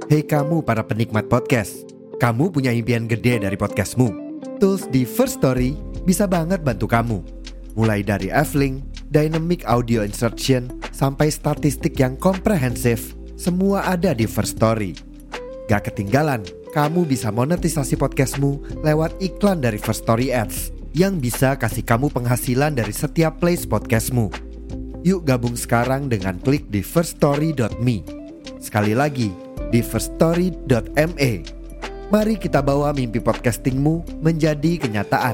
Hei kamu para penikmat podcast, kamu punya impian gede dari podcastmu? Tools di First Story bisa banget bantu kamu. Mulai dari F-Link, Dynamic Audio Insertion, sampai statistik yang komprehensif, semua ada di First Story. Gak ketinggalan, kamu bisa monetisasi podcastmu lewat iklan dari First Story Ads yang bisa kasih kamu penghasilan dari setiap place podcastmu. Yuk gabung sekarang dengan klik di firststory.me. Sekali lagi, di firststory.me. Mari kita bawa mimpi podcastingmu menjadi kenyataan.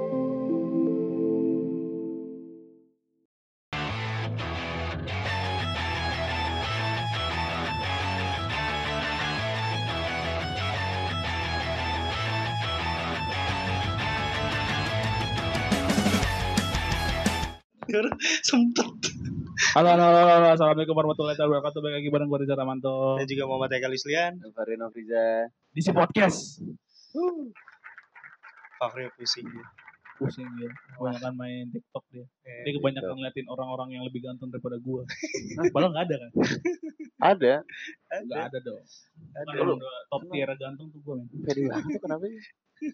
Sempet. Halo, assalamualaikum warahmatullahi wabarakatuh. Balik lagi bareng gue Rizal Ramanto Dan juga Muhammad Eka Lislian. Farino Friza di si podcast. Fahri pusing dia. Pusing dia, kebanyakan main TikTok dia. Dia kebanyakan ngeliatin orang-orang yang lebih ganteng daripada gue. Padahal nggak ada kan? ada. Nggak ada dong. Ada. Kan udah top tier ganteng tuh gue men. Pede banget tuh kenapa sih?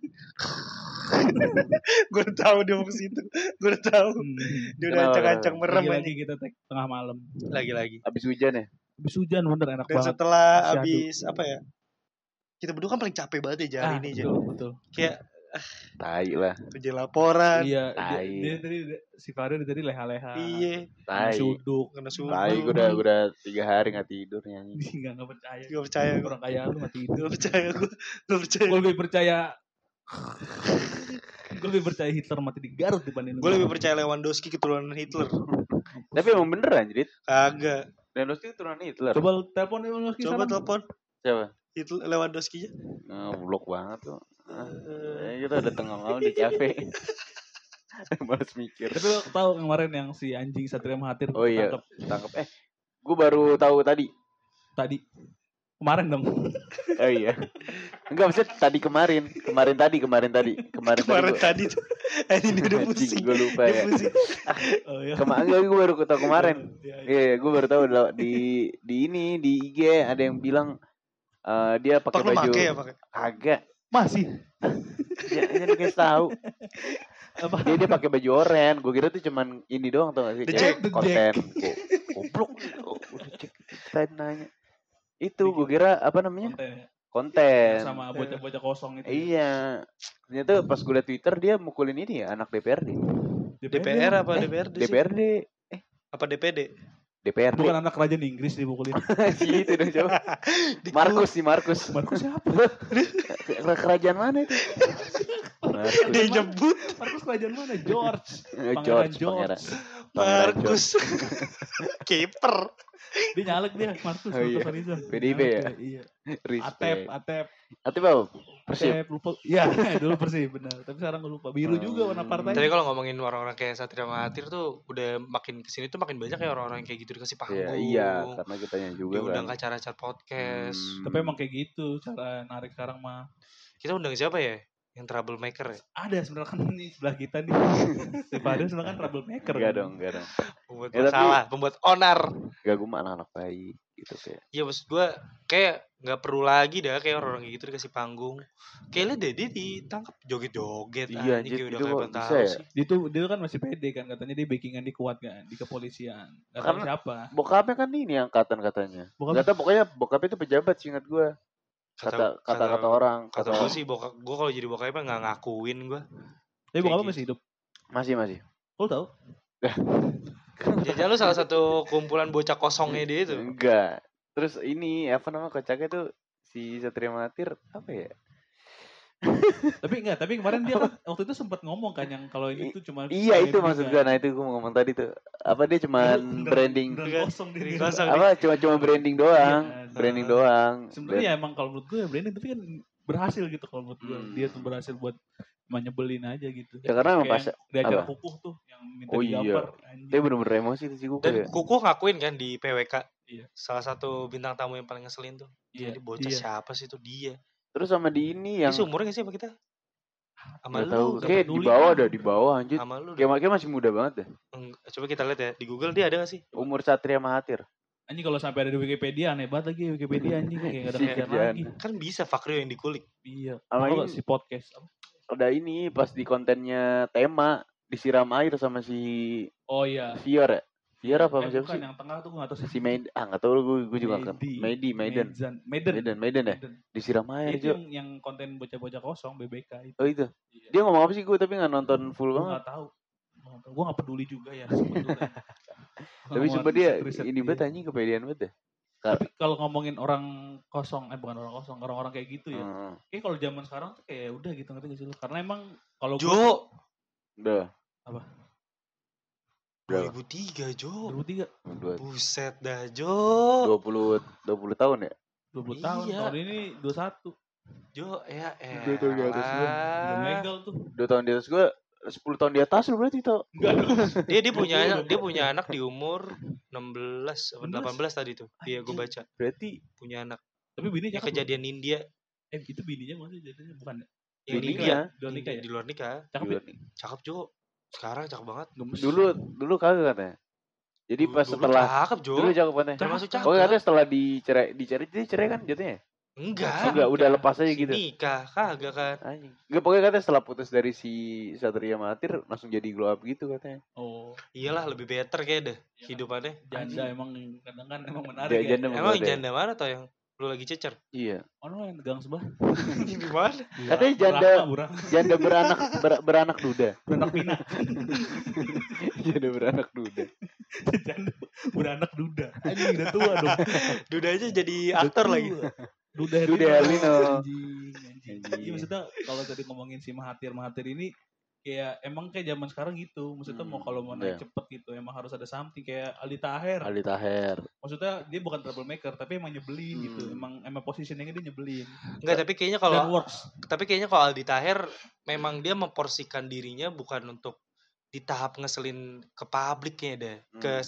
Gue udah tahu dia mau ke situ. Gue udah tahu. Dia udah Kenapa? ancang-ancang merem Lagi aja. kita tengah malam. Lagi. Abis hujan ya? Habis hujan bener enak Dan banget. setelah Syahdu. abis apa ya? Kita berdua kan paling capek banget ya hari ini aja. Betul. Kayak Tai lah. kerja laporan. Iya, Tai. dia tadi si Fahri tadi leha-leha. Iya. Kena Tai. suduk. Kena subuh. Tai gue udah 3 hari gak tidur nyanyi. Nggak percaya. Gak percaya gue. Orang kaya lu mati tidur. Gak percaya gue. Gak percaya. Gue lebih percaya Hitler mati di Garut dibanding Gue lebih percaya Lewandowski keturunan Hitler. Tapi emang bener anjir. Kagak. Lewandowski keturunan Hitler. Coba telepon Lewandowski Coba sekarang. telepon Siapa? Hitler Lewandowski-nya. Blok banget tuh. Kita udah tengah malam di cafe. Males mikir. Tapi lo tahu kemarin yang si anjing Satria Mahathir Oh iya, ketangkep tangkap. Gue baru tahu tadi. tadi. Kemarin dong. Oh iya. Enggak, maksudnya kemarin tadi. Kemarin Tadi tuh. Ini udah pusing. Gue lupa Dia ya. pusing. Oh iya. Gue baru tahu kemarin. Iya. Iya, gue baru tahu di ini di IG ada yang bilang dia pakai Pak lu baju make ya pakai. kagak. Masih. Ya, ini guys tahu. Apa? Dia pakai baju oranye. Gue kira tuh cuman ini doang tau gak sih? The Kayak Jack. konten. Goblok. Udah cek. Saya nanya. Itu gue kira apa namanya? Konten. Sama bocah-bocah kosong itu. Iya. Ternyata pas gue liat Twitter dia mukulin ini ya anak DPRD. DPR apa DPRD sih? DPRD. Apa DPD? DPRD. Bukan anak kerajaan Inggris dipukulin. Si itu dong coba. Markus. Markus siapa? Kerajaan mana itu? Markus. Dia nyebut Markus kerajaan mana? George. George. George. Markus. Kiper. Dia nyalek dia Markus. Oh iya. Markus Rizal. PDIP Nyalek ya? dia, Iya. Respect. Atep. Atep apa? Persib. Persib lupa. Iya, dulu Persib benar. Tapi sekarang gue lupa. Biru juga warna partai. Tapi kalau ngomongin orang-orang kayak Satria Mahathir tuh udah makin kesini tuh makin banyak ya orang-orang yang kayak gitu dikasih panggung. Iya, karena kitanya juga diundang kan. ke acara-acara podcast. Tapi emang kayak gitu cara narik sekarang mah. Kita undang siapa ya? Yang troublemaker ya? Ada sebenarnya kan nih sebelah kita nih. Si Fadil sebenarnya kan troublemaker. Enggak kan? dong. Pembuat Ya, tapi- masalah, pembuat onar. Enggak, gue mah anak-anak baik gitu kayak. Iya maksud gue kayak nggak perlu lagi dah kayak orang-orang kayak gitu dikasih panggung. Kayak liat deh dia ditangkap joget-joget. Iya, anjing, kayak anjir, udah itu kayak kok pentara bisa ya? sih. Dia kan masih pede kan katanya dia backingan dia kuat kan di kepolisian. Gak tahu Karena- siapa. Bokapnya kan ini angkatan katanya. Bokapnya- Enggak tahu, pokoknya bokapnya itu pejabat seingat gue. Kata orang. Kata gue sih bokap gue kalau jadi bokapnya nggak ngakuin gue. Tapi kayak bokapnya gitu. masih hidup. Masih. Lo tahu? Jajan lu salah satu kumpulan bocah kosongnya dia itu. Enggak. Terus ini apa nama kocaknya tuh si Satria Mahathir apa ya? Tapi kemarin dia kan waktu itu sempat ngomong kan yang kalau ini tuh cuma Iya itu maksud gue. Nah itu gue mau ngomong tadi tuh. Apa dia cuman branding? kosong Diri diri kosong. Apa cuma branding doang? Iya, Branding doang. Sebenarnya ya emang kalau menurut gue ya branding tapi kan berhasil gitu kalau menurut gue. Dia tuh berhasil buat menyebelin aja gitu. Ya karena emang Kayak pas di acara apa? kukuh tuh yang minta Oh iya. Iya. digambar. anjing. Dia bener-bener emosi tuh si gue Dan ya. Kuku ngakuin kan di PWK. Iya. Salah satu bintang tamu yang paling ngeselin tuh. Iya, Jadi bocah iya. siapa sih itu dia? Terus sama di ini Dia yang seumurnya gak sih sama kita? Sama nggak tahu. lu. nggak Kayak peduli. di bawah anjir. Sama lu. Kayak masih muda banget deh. Coba kita lihat ya di Google dia ada gak sih? Umur Satria Mahathir. Anjing kalau sampai ada di Wikipedia aneh banget lagi Wikipedia anjing kayak enggak ada Iya, kerjaan kerjaan. lagi. Kan bisa Fakrio yang dikulik. Iya. Sama Kalau ini- si podcast apa? Ada ini pas di kontennya tema disiram air sama si Oh iya. Vior ya. Vior apa sama siapa bukan sih? yang tengah tuh gue enggak tahu Si Maiden. Enggak tahu gue juga kan. Maiden ya. Disiram air Itu Jo. yang konten bocah-bocah kosong BBK itu. Oh itu. Iya. Dia ngomong apa sih gue tapi enggak nonton full Gue banget. enggak tahu. Gue enggak peduli juga ya sebetulnya. Tapi sumpah dia ini banget anjing kepedean banget ya. Tapi kalau ngomongin orang kosong, bukan orang kosong, orang-orang kayak gitu ya. Heeh. Kayak kalau zaman sekarang tuh kayak udah gitu ngerti gak sih lu? Karena emang kalau Jo. Udah. Apa? Berapa? 2003 Jo. 2003, Buset dah Jo. 20 tahun ya? 20 tahun, Iya. tahun ini 21. Jo ya Dua tahun di atas gua. Udah legal tuh. 2 tahun di atas gue 10 tahun di atas lu berarti tau. Enggak dong. Dia punya anak di umur 16 atau 18 tadi tuh. Iya gue baca. Berarti Punya anak. Tapi bini Yang cakep. kejadian India. Itu bininya maksudnya jadinya bukan ya? Yang Di di nikah. India. Di luar nikah ya? Di luar nikah. Cakep ya? Cakep Jo. Sekarang cakep banget. Gemes. Dulu kagak katanya. Jadi pas Dulu setelah cakep Jo. dulu cakep katanya. Termasuk cakep. Oh katanya setelah dicerai dia cerai kan jatuhnya? Enggak. Enggak, udah lepas aja gitu. Nikah kagak kan. Anjing. Enggak pokoknya katanya setelah putus dari si Satria Mahathir langsung jadi glow up gitu katanya. Oh, Iyalah lebih better kayak deh Iya. hidupannya. janda emang kadang kan emang menarik Dia ya. janda Emang membuat ya. janda mana tuh yang lu lagi cecer? Iya. Ono yang gang sebelah. Gimana? Katanya janda- Burang. Janda beranak duda. Beranak pinak. Janda beranak duda. Janda beranak duda. Anjing udah tua dong. Duda aja jadi aktor Udah lagi. tua. Duda Herlino. Anjing. Anjing. Iya maksudnya kalau tadi ngomongin si Mahathir ini kayak emang kayak zaman sekarang gitu. Maksudnya mau kalau mau naik iya. cepet gitu emang harus ada something kayak Aldi Taher. Aldi Taher. Maksudnya dia bukan troublemaker tapi emang nyebelin gitu. Emang positioningnya dia nyebelin. Enggak, tapi kayaknya Dan kalau works. Aldi Taher memang dia memporsikan dirinya bukan untuk di tahap ngeselin ke publiknya deh. Ke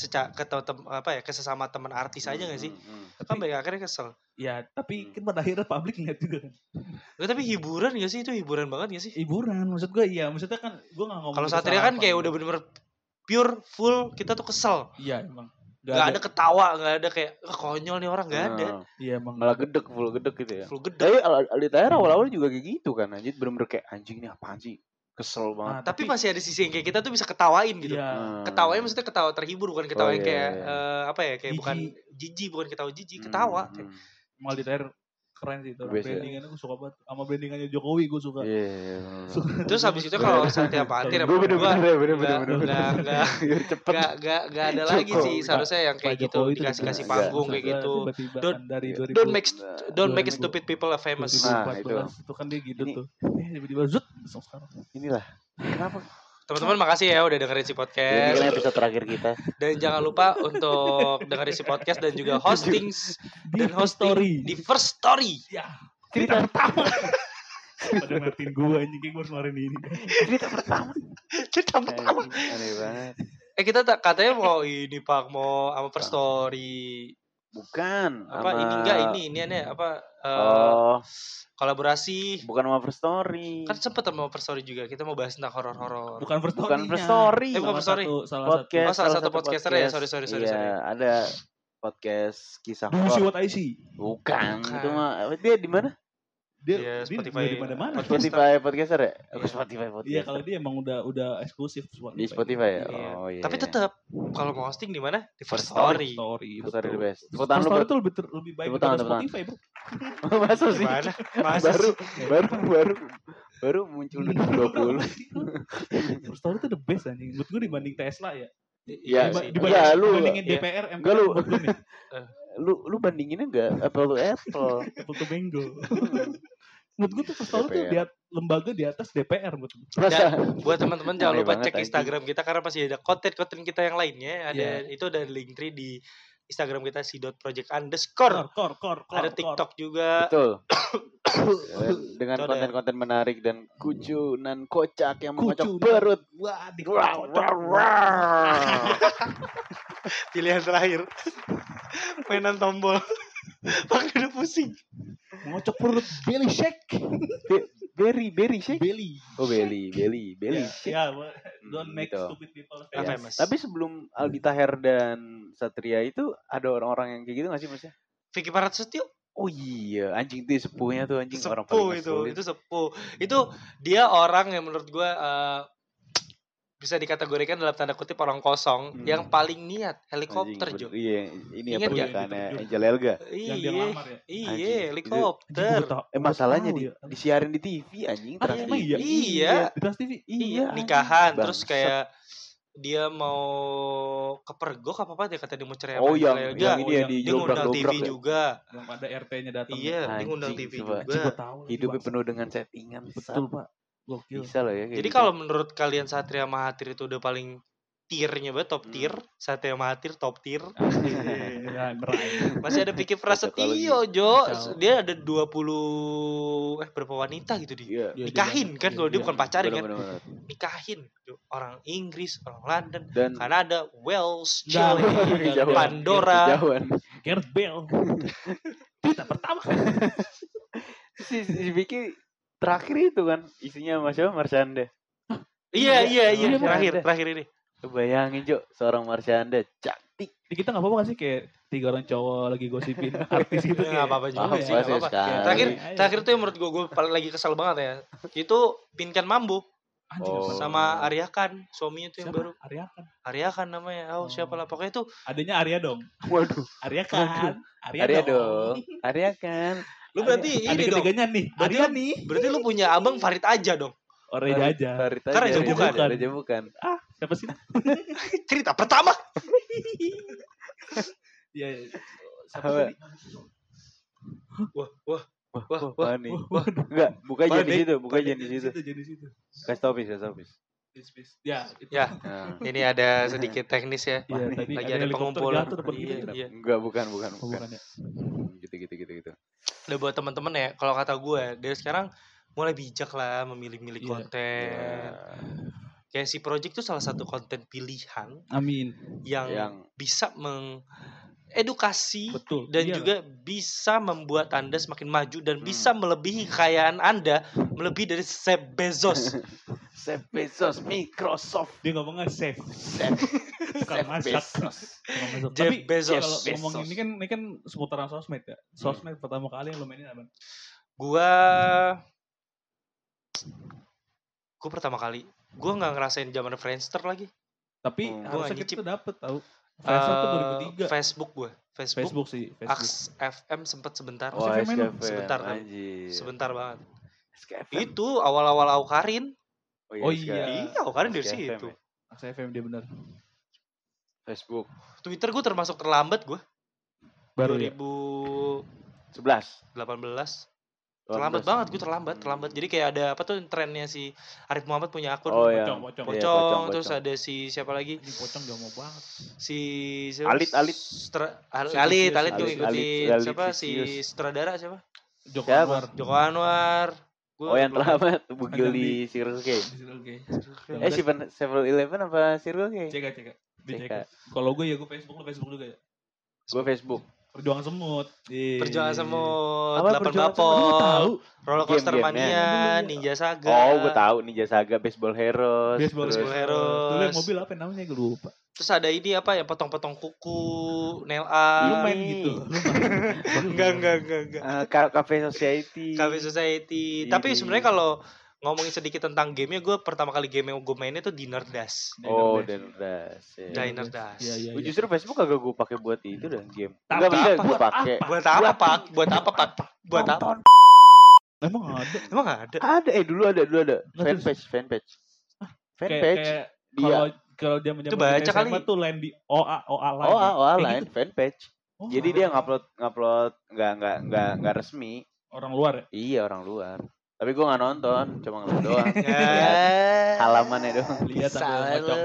ke sesama teman artis aja enggak sih? Kan baik akhirnya kesel. Ya tapi kan pada akhirnya publik ngeliat juga kan. Enggak, tapi hiburan enggak sih? Itu hiburan banget enggak sih? Hiburan maksud gue iya. Maksudnya kan gue gak ngomong. Kalau itu Satria salah kan apa, kayak gitu. udah bener-bener pure full kita tuh kesel. Iya emang. Gak ada ketawa, gak ada kayak konyol nih orang, gak ada. Iya emang. Malah full gedek gitu ya. Full gede. Tapi Aldi Taher awal-awal juga kayak gitu kan. Anjir bener-bener kayak anjing nih apaan sih. Kesel banget. Nah, Tapi masih ada sisi yang kayak kita tuh bisa ketawain gitu. Iya. Ketawanya maksudnya ketawa terhibur, bukan ketawa yang kayak kayak Jijik. bukan jijik, bukan ketawa jijik, ketawa. Mal di Taher keren sih itu. Best ya. Brandingannya gue suka banget. Sama brandingannya Jokowi gue suka. Iya. Terus habis itu kalau Satria Mahathir Gue gak bener-bener cepet. ada lagi sih seharusnya yang kayak Pak gitu Jokowi itu dikasih udah- panggung kayak Maksudnya gitu. tiba-tiba Don't- kan dari 2000 Don't make 2000. stupid people famous. Nah, 2014 itu kan dia gitu Ini- tuh. Tiba-tiba zut langsung sekarang. Inilah. Kenapa? Teman-teman makasih ya udah dengerin si Ini podcast. kan episode terakhir kita. Dan jangan lupa untuk dengerin si podcast dan juga hosting Di di First Story. Ya. Cerita pertama. Pada ngatin gue anjing kayak gue harus ngeluarin ini. Cerita pertama. Cerita pertama. Aneh banget. Kita katanya mau ini Pak, mau sama First Story. Bukan. Apa sama- ini enggak ini aneh apa Oh, kolaborasi. bukan sama First Story. Kan sempet sama First Story juga. Kita mau bahas tentang horor-horor. Bukan First Story. Bukan First Story. bukan First Story. Salah Podcast. Oh, salah satu podcaster ya. Sorry. Iya, ada podcast kisah Do you see horor. what I see? Bukan. Bukan. Itu mah dia di mana? Iya, Dia Spotify. di mana-mana. Spotify podcaster ya? Iya. Oh, Spotify podcast. Iya kalau dia emang udah eksklusif Di Spotify ya? Iya. Oh iya. Tapi tetap kalau mau hosting di mana? Di First First Story. Story. First Story the betul. best. Tepuk tangan First lu Story buat- itu lebih baik Tepuk tangan, daripada tepuk tangan. Spotify, bro. Masa sih? Gimana? Masa baru, sih? baru muncul 2020. First Story itu the best anjing. Menurut gue dibanding Tesla ya. Iya, sih. iya, lu- dibandingin iya. DPR, Enggak, MPR lu. menurut gue nih. Lu bandinginnya enggak Apple to Apple. Apple to Mango. Menurut gue tuh First Story tuh DPR. lembaga di atas DPR menurut gue. Masa? Buat teman-teman jangan Aneh lupa banget, cek anjing. Instagram kita karena masih ada konten-konten kita yang lainnya. Ada Iya. itu ada Linktree di Instagram kita _project_. Kor. Ada TikTok juga. Betul. Dengan Itu ada. konten-konten menarik dan kucunan kocak yang mengocok Kucunan. perut. Wah, di Pilihan terakhir. Mainan tombol. Pakai udah pusing. ngocok perut belly shake. Berry sih. Belly. Oh Belly. Ya, don't make gitu. stupid people Ya. famous. Tapi sebelum Aldi Taher dan Satria itu ada orang-orang yang kayak gitu nggak sih maksudnya? Vicky Prasetyo. Oh iya, anjing itu sepuhnya tuh anjing orang Sepuh paling itu ngeselin. sepuh. Itu dia orang yang menurut gue bisa dikategorikan dalam tanda kutip orang kosong yang paling niat helikopter Anjing, Jo. Iya, ini Ingat apa nggak? pernikahannya Angel Elga. Yang dia ngelamar ya? Iya, Anjing, helikopter. Masalahnya tahu ya. disiarin di TV anjing, Trans emang TV. Iya. Di Trans TV. Iya. Nikahan Bangsat. terus kayak dia mau kepergok apa dia kata dia mau cerai Oh, sama yang Angel Elga. ini ya Dia ngundang TV dijobrak-jobrak ya. juga. Yang pada RT-nya datang. Iya, dia Anjing, ngundang TV coba. Gue juga. tahu. Hidupnya penuh dengan settingan. Betul, Pak. Gokil. Bisa loh ya kayak Jadi gitu. kalau menurut kalian Satria Mahathir itu udah paling tiernya banget, top tier. Satria Mahathir top tier. Ya, meraih. Masih ada Vicky Prasetyo, Jo. Dia ada 20 berapa wanita gitu Iya. nikahin kan kalau dia bukan pacarin kan. Bener-bener. Nikahin orang Inggris, orang London, Dan Kanada, Wales, Nggak, Chile, kejauhan. Pandora. Kejauhan. Gareth Bale. Kita pertama. Si Vicky terakhir itu kan isinya sama siapa? Marsyanda. Iya, Marsyanda. terakhir ini. Bayangin Jo, seorang Marsyanda cantik. Di kita nggak apa-apa nggak sih kayak 3 orang cowok lagi gosipin artis gitu Nggak kayak. apa-apa juga Apa sih, sih nggak apa-apa. sekali. Terakhir tuh yang menurut gue paling lagi kesel banget ya. Itu Pinkan Mambo Anjing, Oh. apa? sama Arya Khan, suaminya tuh yang Siapa? baru. Arya Khan. Arya Khan namanya. Oh, siapa lah. Pokoknya tuh Adanya Arya dong. Waduh. Arya Khan. Arya dong. Arya kan. lu berarti Ada ini dong. ketiganya nih. Berarti Arya lu- nih. Berarti lu punya abang Farid aja dong. Orang aja. Farid Kan Raja Bukan. Raja Bukan. Ah, siapa sih? Cerita pertama. Iya. Siapa Apa? tadi? Wah. Wah, nih. Enggak, buka aja di situ, buka aja di situ. Jadi situ. Kasih topis. Ya, itu. Ya, Nah. ini ada sedikit teknis ya. Iya, tadi Lagi ada ada helikopter pengumpulan. jatuh depan kita. Iya. Enggak, bukan. Oh, bukan ya. Gitu. Udah buat temen-temen ya, kalau kata gue dari sekarang mulai bijak lah memilih-milih Iya. konten. Ya. Kayak si Project itu salah satu konten pilihan Amin. yang bisa mengedukasi Betul. dan Iya. juga bisa membuat Anda semakin maju dan bisa melebihi kekayaan Anda melebihi dari Jeff Bezos. Jeff Bezos, Microsoft. Dia ngomongnya safe. Bukan Jeff masak. Bezos. Bukan masak. Jeff Tapi Bezos. kalau Bezos. ngomong ini kan seputaran sosmed ya. Sosmed pertama kali yang lo mainin apa? Gua pertama kali gue nggak ngerasain zaman Friendster lagi. Tapi Gua harusnya nggak kita tuh dapet tahu. Friendster tuh 2003. Facebook gue. Facebook sih. Facebook. Aks FM sempat sebentar. Oh, SKFM lu? Sebentar kan. Anjir. Sebentar banget. SKFM. Itu awal-awal Aukarin. Oh iya. Iya, Aukarin dari SKFM situ. ya. Aks FM dia benar. Facebook Twitter gue termasuk terlambat gue. Baru ya. 2018. 11. Terlambat banget gue terlambat. Jadi kayak ada apa tuh trennya si Arif Muhammad punya akun. Oh ya. Pocong. Pocong, Iya, Pocong. terus ada si siapa lagi? Ini pocong gak mau banget. Si Alit. Alit gue Alit, ngikutin. Alit Siapa si Vicious. sutradara siapa? Joko Siapa? Anwar. Joko Anwar. Gua Oh yang belum- terlambat Bugil Ada di Circle K. Oke. Si 7-Eleven apa Circle K? Cek. Dicek. Cek. Kalau gue ya gue Facebook, lo Facebook juga ya. Gue Facebook. Perjuangan semut. Perjuangan semut, Apa 8 Perjuangan Bapor, Lu tahu? Roller Coaster Game-gamenya. Mania, Ninja Saga. Oh, gue tahu Ninja Saga, Baseball Heroes. Baseball Baseball Heroes. Dulu yang mobil apa namanya gue lupa. Terus ada ini apa yang potong-potong kuku, nail Lu art. main gitu. Enggak. Cafe Society. Cafe Society. Ini. Tapi sebenarnya kalau ngomongin sedikit tentang gamenya, gue pertama kali game yang gue mainnya tuh Dinner Dash. Oh, Diner Dash. Ya. Diner Dash. Iya. Justru Facebook agak gue pakai buat itu dan game. Tapi Enggak bisa apa? gue pakai. Buat apa, Pak? Buat apa, Pak? Buat apa? Nonton. Emang ada. Emang nggak ada? Ada dulu ada. Nggak, Fanpage. Kayak Dia. kalau dia Itu baca kali. tuh lain di OA lain. Oh, Kayak lain gitu. fanpage. Oh, Jadi dia ngupload nggak resmi. orang luar ya. Iya, orang luar. Tapi gue nggak nonton, cuma ngeliat doang. Ya. Halamannya doang. Lihat sambil ngocok.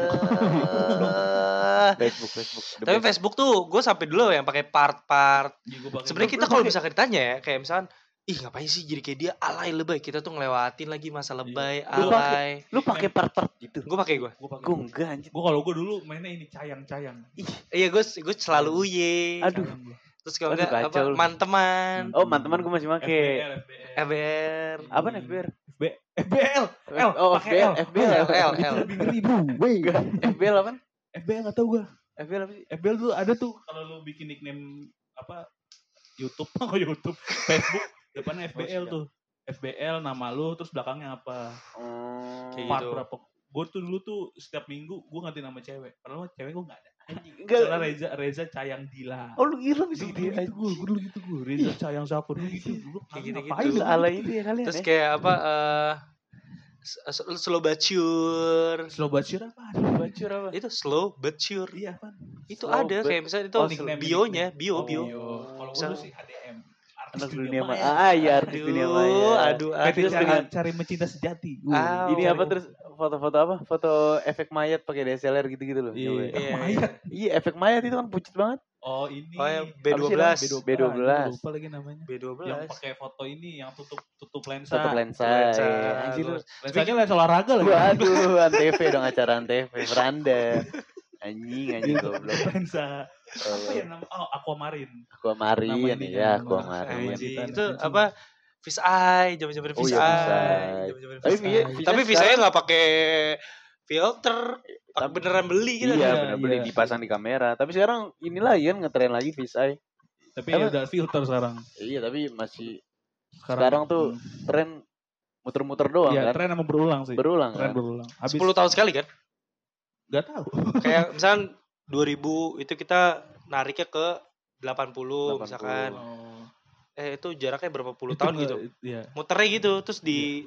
Facebook. Tapi Facebook tuh gue sampai dulu yang pakai part-part. Iya, gua pakai. Sebenarnya kita kalau misalkan ditanya ya, kayak misalkan, ih ngapain sih jadi kayak dia alay lebay. Kita tuh ngelewatin lagi masa lebay, Lu pakai- alay. Lu pakai part-part gitu. Gue pakai gue. Gua pakai. Gue enggak anjir. Gua kalau gua dulu mainnya ini cayang. Iya gue selalu uye. Aduh. Cayang gua. Terus kalau Aduh, enggak kacau lu. manteman. Oh, teman gue masih make. FBR. Apa FBR? FBL. Oh, pakai L. FBL. L. Itu lebih ngeri, bro. FBL apa? FBL enggak tahu gua. FBL apa sih? FBL tuh ada tuh kalau lu bikin nickname apa YouTube, YouTube, Facebook, depannya FBL tuh. FBL nama lu terus belakangnya apa? Kayak Part gitu. berapa? Gue tuh dulu tuh setiap minggu gue ganti nama cewek. Padahal cewek gue gak ada. Enggak. Misalnya Reza Cayang Dila. Oh, lu gila bisa gitu. Gue dulu gitu gue. Reza Cayang Sakur gitu. Dulu Kayak gitu-gitu. ngapain lu? Ala itu ya kalian. Terus kayak apa slow but sure. Slow but sure apa? Bacur apa? Itu slow but sure. Iya apa? Itu Slow ada but- kayak misalnya itu nickname. bio-nya, bio. Kalau gue Misal- sih HDM. Anak Artis dunia maya. maya. Iya, artis dunia maya. Aduh. Terus dengan- cari mencinta sejati. Ini apa terus foto-foto apa? Foto efek mayat pakai DSLR gitu-gitu loh. Iya. Iya. Mayat. Iya, efek mayat itu kan pucet banget. Oh ini. Oh, yang B12. B12. B12. Gue lupa lagi namanya. B12. Yang pakai foto ini yang tutup lensa. Tutup lensa. Lensa. Iya. Anjir lu. Lensanya lensa olahraga lagi. Waduh, Antv dong, acara Antv, beranda. Anjing goblok. Lensa. Apa ya nama? Oh, Aquamarine. Aquamarine Nama ini ya, kan. Aquamarine. Anjing. Anjing. Itu apa? Fish eye, zaman-zaman Oh fish iya, fish eye. eye. Zaman-zaman Tapi fish eye. Fish Tapi eye fish eye sekarang- nggak pakai filter, Tapi- beneran beli gitu. Iya, Iya, benar beli iya. dipasang di kamera. Tapi sekarang inilah kan ngetren lagi fish eye. Tapi Apa? ya udah filter sekarang. Iya, tapi masih sekarang tuh tren muter-muter doang Iya, kan. tren emang berulang sih. Berulang Tren kan. berulang. Habis 10 tahun sekali kan? enggak tahu. Kayak misalnya 2000 itu kita nariknya ke 80 misalkan. Oh. Itu jaraknya berapa puluh Itu tahun enggak- gitu. Iya. Muternya gitu terus di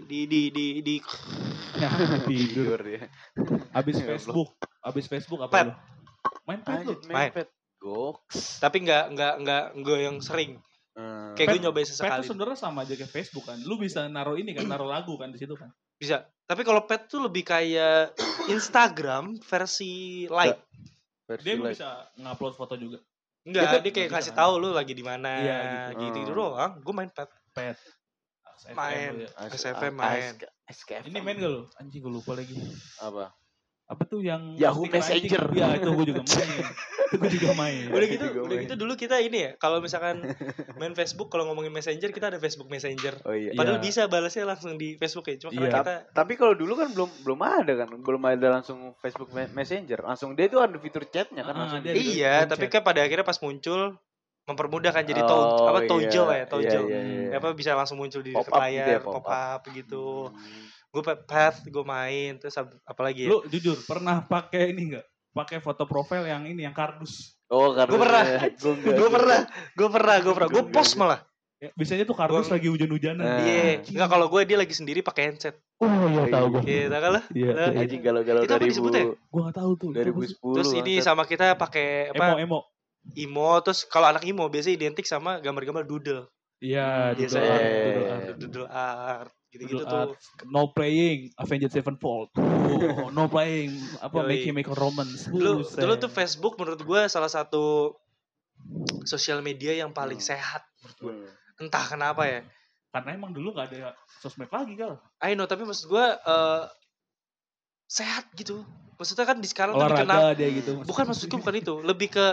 Ya, tidur. Tidur ya. Habis Goblok. Facebook apa Pet. lu? Main pet lu. Anjir, Main. mepet. Goks. tapi nggak yang sering. Kayak gue nyobain Pet sesekali. tuh sebenarnya sama aja kayak Facebook kan. Lu bisa naruh ini kan, naruh lagu kan di situ kan. Bisa. Tapi kalau pet tuh lebih kayak Instagram versi light. Versi Dia light. bisa ngupload foto juga. Enggak, dia kayak bisa kasih kan? tahu lu lagi di mana. Iya, gitu Hmm. doang. Gue main pet. Pet. Main. Ya. SFM main. SKF. Ini main gak lu? Anjing gue lupa lagi. apa? Apa tuh yang Yahoo stiker Messenger. anjing? Iya, itu gue juga main. Itu gue juga main. Udah gitu dulu kita ini ya. Kalau misalkan main Facebook, kalau ngomongin Messenger kita ada Facebook Messenger. Oh iya. Padahal Iya. bisa balasnya langsung di Facebook ya. Cuma karena Iya. kita Tapi kalau dulu kan belum ada kan, belum ada langsung Facebook Messenger. Langsung dia itu ada fitur chatnya kan Ah, langsung. dia ada. iya, Chat. tapi kan pada akhirnya pas muncul mempermudah kan jadi Oh, Tojo iya. ya, Tojo. Iya, iya. Apa bisa langsung muncul di Pop up layar, gitu ya, pop up gitu. Hmm. Gue path, gue main terus apalagi ya? Lu jujur pernah pakai ini enggak? Pakai foto profil yang ini yang kardus. Oh, karena Gue pernah. Gue enggak. Gue post malah. Ya, biasanya tuh kardus lagi hujan-hujanan. Nah. Iya, enggak kalau gue dia lagi sendiri pakai handset. Oh iya tahu gue. Iya, tahu kan lah. Iya. Lah, iya. Anjing galau-galau Itu apa disebutnya? Gue enggak tahu tuh. 2010. Terus ini bangsat. sama kita pakai apa? emo. Imo, terus kalau anak imo biasanya identik sama gambar-gambar doodle. Iya, Biasanya doodle art. doodle art gitu-gitu Doodle tuh. art. No playing Avenged Sevenfold. Oh, no playing apa Yoi. Make Romance. Dulu tuh Facebook menurut gue salah satu sosial media yang paling sehat menurut gue. Entah kenapa ya. Karena emang dulu nggak ada sosmed lagi kan. I know, tapi maksud gue sehat gitu. Maksudnya kan di sekarang tuh dikenal. Olahraga dia gitu. Bukan maksudku bukan itu, lebih ke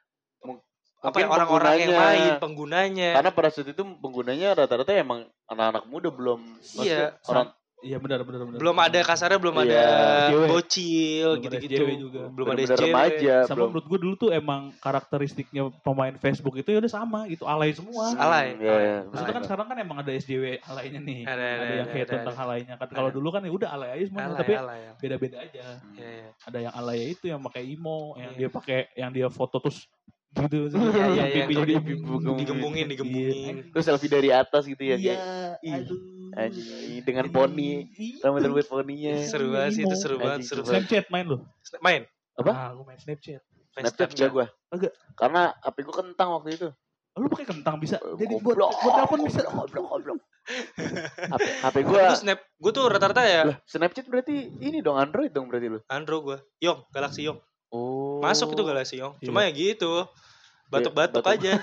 apa Mungkin ya, orang-orang yang penggunanya. main, penggunanya. Karena pada saat itu penggunanya rata-rata emang anak-anak muda belum. Iya. maksudnya orang Iya benar. Belum ada kasarnya, belum Iya, ada cewek. bocil Belum ada gitu-gitu. SJW juga. Belum ada benar-benar SJW. remaja, Sama belum. menurut gue dulu tuh emang karakteristiknya pemain Facebook itu ya udah sama gitu, alay semua. Alay. Iya, iya. Maksudnya kan sekarang kan emang ada SJW alaynya nih. Ada, yang hate ada. tentang alaynya kan. Kalau dulu kan ya udah alay aja semuanya, tapi Alay. beda-beda aja. Iya, iya. Ada yang alay itu yang pakai emo, yang Iya. dia pakai yang dia foto terus gitu. Iya, iya, pipinya iya. digembungin. digembungin. Terus selfie dari atas gitu ya. Iya, kayak, aduh. anjing, dengan poni. Rambut poninya. Seru banget sih itu, seru banget, Anjing, seru seru banget. Snapchat main lu? Main. Apa? Ah, gue main Snapchat. Main Snapchat enggak gue. Enggak. Karena HP gue kentang waktu itu. Oh, lu pakai kentang bisa. Jadi buat Goblok. telepon bisa. Goblok. HP gue. Gue tuh rata-rata ya Lah, Snapchat berarti ini dong, Android dong berarti lu. Android gue. Yong, Galaxy Yong. Oh. Masuk itu Galaxy Yong. Iya. Cuma ya gitu. Batuk-batuk Batuk. aja.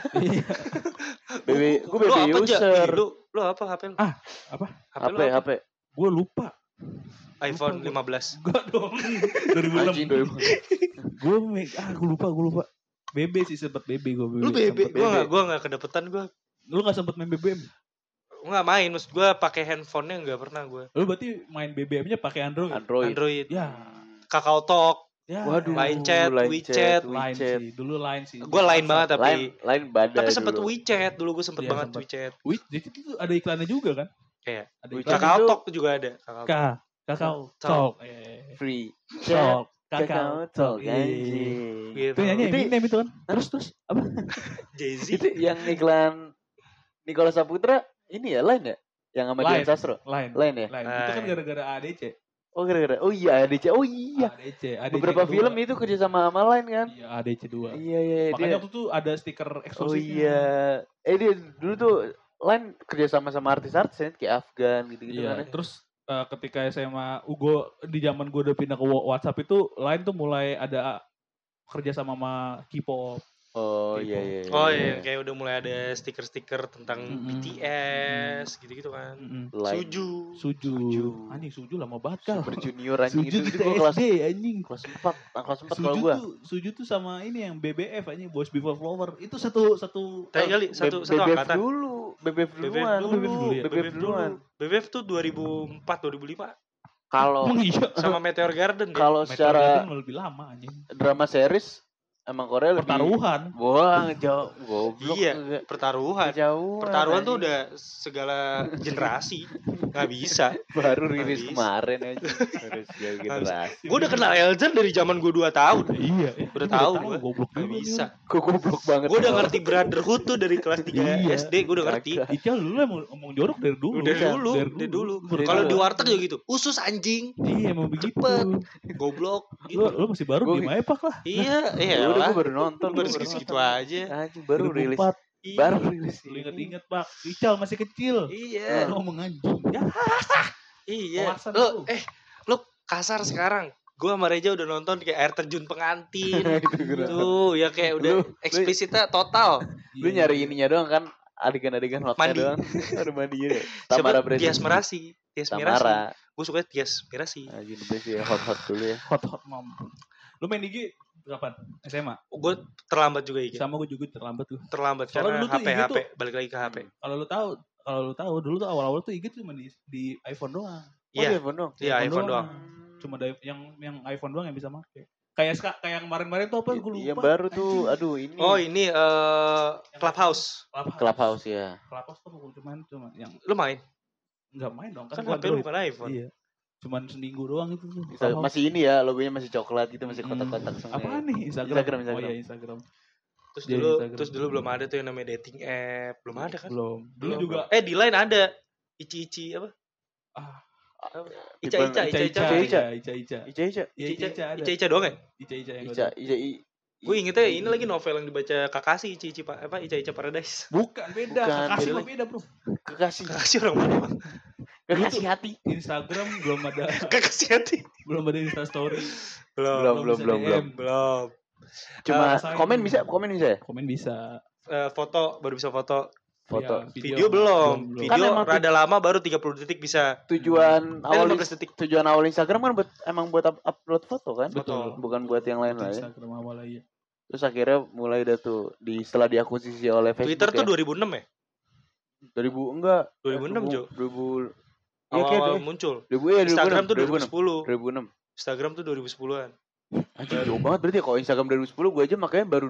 BB, gue Lu BB apa aja? user. Lu apa HP lu? Ah, apa? HP lu apa? HP. Gue lupa. iPhone Lupa 15. Enggak dong. 2006. Anjing 2000. Gue lupa. BB sih sempet BB gue. Lu BB, gua enggak kedapetan gua. Lu enggak sempet main BBM? Enggak main, maksud gua pakai handphonenya enggak pernah gua. Lu berarti main BBM-nya pakai Android? Android. Ya. Kakao Talk. Ya. Waduh, Line chat, WeChat. Line sih, dulu Line sih. Gua Line banget tapi Line badai. tapi sempet dulu. WeChat dulu, gua sempet Iya, banget sempet. WeChat. WeChat itu ada iklannya juga kan? Kayak Ada WeChat iklannya. Kakao itu- Talk juga ada. Kakao Talk. Talk. Free. Talk. Kakao Talk Iya. anjing. Gitu. Itu nyanyi Itu- Eminem itu kan? Terus apa? Jay-Z. Itu yang iklan Nicholas Saputra ini ya Line ya? Yang sama Dian Line. Sastro. Line. Line ya? Line. Itu kan gara-gara ADC. Oh gara-gara. Oh iya ADC. Oh iya. ADC Beberapa kedua. film itu kerja sama Line kan? Iya, ADC 2. Iya. Makanya Dia. waktu itu ada stiker Oh eksklusifnya. iya. Dia dulu tuh Line kerja sama artis-artis ya, kayak Afgan gitu-gitu Iya, kan. Ya. terus ketika SMA Ugo di zaman gue udah pindah ke WhatsApp itu Line tuh mulai ada kerja sama K-pop. Oh Gitu. iya. Oh iya, kayak udah mulai ada stiker-stiker tentang Mm-mm. BTS gitu-gitu kan. Line. Suju. Anjing Suju lama banget kal. Super Junior anjing Suju itu kita gua kelas SD anjing. kelas 4. Kelas 4 kalau Suju gua. Suju tuh sama ini yang BBF anjing Boys Before Flower. Itu satu Tapi kali satu angkatan. BBF duluan. BBF duluan. BBF tuh 2004 2005 Kalau Emang iya. sama Meteor Garden dia. kalau Meteor secara Garden lebih lama anjing. drama series emang Korea lebih Pertaruhan. wah jauh goblok Iya, enggak. pertaruhan. Jauh Pertaruhan tuh udah segala generasi. Nggak bisa. baru Nggak rilis bisa. kemarin aja harus jauh generasi Gue udah kenal Eljan dari zaman gue 2 tahun. Iya. Udah tahu gua. Goblok Nggak juga bisa. kok goblok banget Gue udah ngerti Brotherhood tuh dari kelas 3 Iya. SD. Gue udah ngerti. Kagak. Ical dulu emang ngomong jorok dari dulu. Dari Iya, dulu. dari dulu. Dari Kalau dulu. di warteg juga gitu. Usus anjing. Iya emang begitu. Cepet. Goblok. Gitu. Lu masih baru Gua- di Maepak lah. Iya. Iya Ya udah lah. gue baru nonton Baru gua segitu nonton. aja. anjing baru rilis 2004. Iya. baru rilis Lu inget-inget Pak. Ical masih kecil. Iya. Lu ngomong anjing. Ya. Iya. Kawasan Lu tuh. lu kasar sekarang. Gue sama Reja udah nonton kayak air terjun pengantin. Itu gua nonton. Tuh, ya kayak udah Lu- eksplisitnya total. lu nyari ininya doang kan adegan-adegan hotnya Mandi. doang ada mandi ya Tamara Siapa? Brady Tias Mirasi. Tias Mirasi. Tamara Gue suka Tias Mirasi. anjing sih hot dulu ya Hot mom. Lu main IG kapan? SMA. Gue terlambat juga IG. Sama gue juga terlambat tuh. Terlambat Soalnya karena dulu tuh HP IG HP tuh- balik lagi ke HP. Kalau lu tahu dulu tuh awal-awal tuh IG cuma di iPhone doang. oh Iya. iPhone dong Iya, iPhone doang. Cuma ada yang iPhone doang yang bisa make. Kayak yang kemarin-kemarin tuh apa gue lupa. yang baru tuh aduh ini Oh, ini Clubhouse. Clubhouse ya Clubhouse tuh cuma yang Lu main? enggak main dong Kan gua HP lu Android. bukan iPhone. Iya. Cuman seminggu doang itu tuh. Clubhouse. masih ini ya logonya masih coklat gitu masih kotak-kotak semua Apaan nih? Instagram. Instagram. Oh iya Instagram. Terus Jadi dulu Instagram. terus dulu belum ada tuh yang namanya dating app. Belum ada kan? Belum. Dulu Belum. juga Di Line ada. Ici apa? ah Ica Ica, Ica. Ica. Ica. Iya, Ica. Ica Iya, Ica ada. Ica doang ya? Ica yang Ica gua Ica Gue ingetnya ini lagi novel yang dibaca Kakashi Ica Ica Paradise. tahu. Bukan beda. Bukan, Kakasih beda mah beda, Bro. kekasih Kakashi orang mana, Bang? kekasih hati Instagram belum ada Kakashi hati. belum ada Insta story. Belum. bisa DM. Belum. cuma Rasain. komen bisa ya Komen bisa. Foto baru bisa foto. foto Iya, Video belum. belum. Kan Video emang rada lama baru 30 detik bisa. tujuan awal 15 detik. tujuan awal Instagram kan buat upload foto kan Betul. bukan buat yang lain lain Instagram awal aja. terus akhirnya mulai dah tuh setelah diakuisisi oleh Facebook Twitter tuh ya. 2006 ya? 2000 enggak 2006, Jo. 2000 iya kayak Awal-awal muncul. 2000 ya Instagram tuh 2006 2010. 2006 Instagram tuh 2010-an. anjir jauh banget berarti ya kalau Instagram 2010 gue aja makanya baru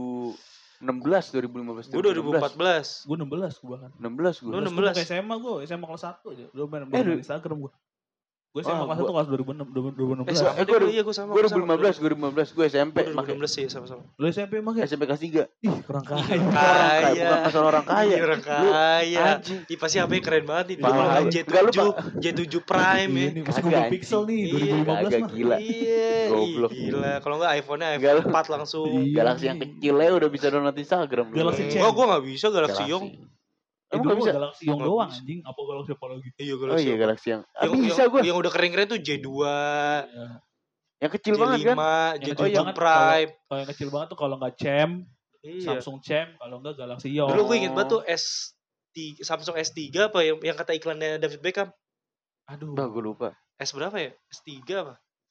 2015 Gue 2014. Gue 16 gue bahkan. 16 gue Lu 16 16. SMA gue, SMA kelas 1 aja. Udah main Eh, main Instagram gue. Gue SMA Wah, kelas 1 kelas 2016. Sama Eh, deh, gua- iya gue sama. gue sama. 2015 gue SMP Gue makanya 2016 sih sama-sama. Lu SMP emang ya? SMP kelas 3 Ih, kurang kaya. kaya bukan masalah orang kaya Iya, orang Lu kaya. anjing Ih, pasti HP keren banget nih. Parah. Dulu kan Enggak, lu, J7 Prime ya. Iya nih, masih Kagak, Google anjing. Pixel nih Iya, 2015 kagak mah. gila Iya, Goblok. gila. Kalau enggak iPhone-nya Enggak, iPhone 4 langsung. Iya. Galaxy yang kecil ya udah bisa download Instagram dulu. Galaxy C. Enggak, gue gak bisa Galaxy Young. Emang Dulu nggak bisa? Galaxy Young Nggak doang bisa. anjing. Apa Galaxy apa lagi? Iya, Oh Galaxy iya Young. Galaxy yang Yang, bisa yang, gue yang udah keren-keren tuh J2, Iya. yang kecil J5, banget kan Yang J7 kecil banget Prime. Kalau yang kecil banget tuh kalau nggak Cem, Iya. Samsung Cem, kalau nggak Galaxy Young. Dulu gue inget banget tuh Samsung S3 apa yang kata iklannya David Beckham. Aduh. Bah gue lupa S berapa ya? S3 apa?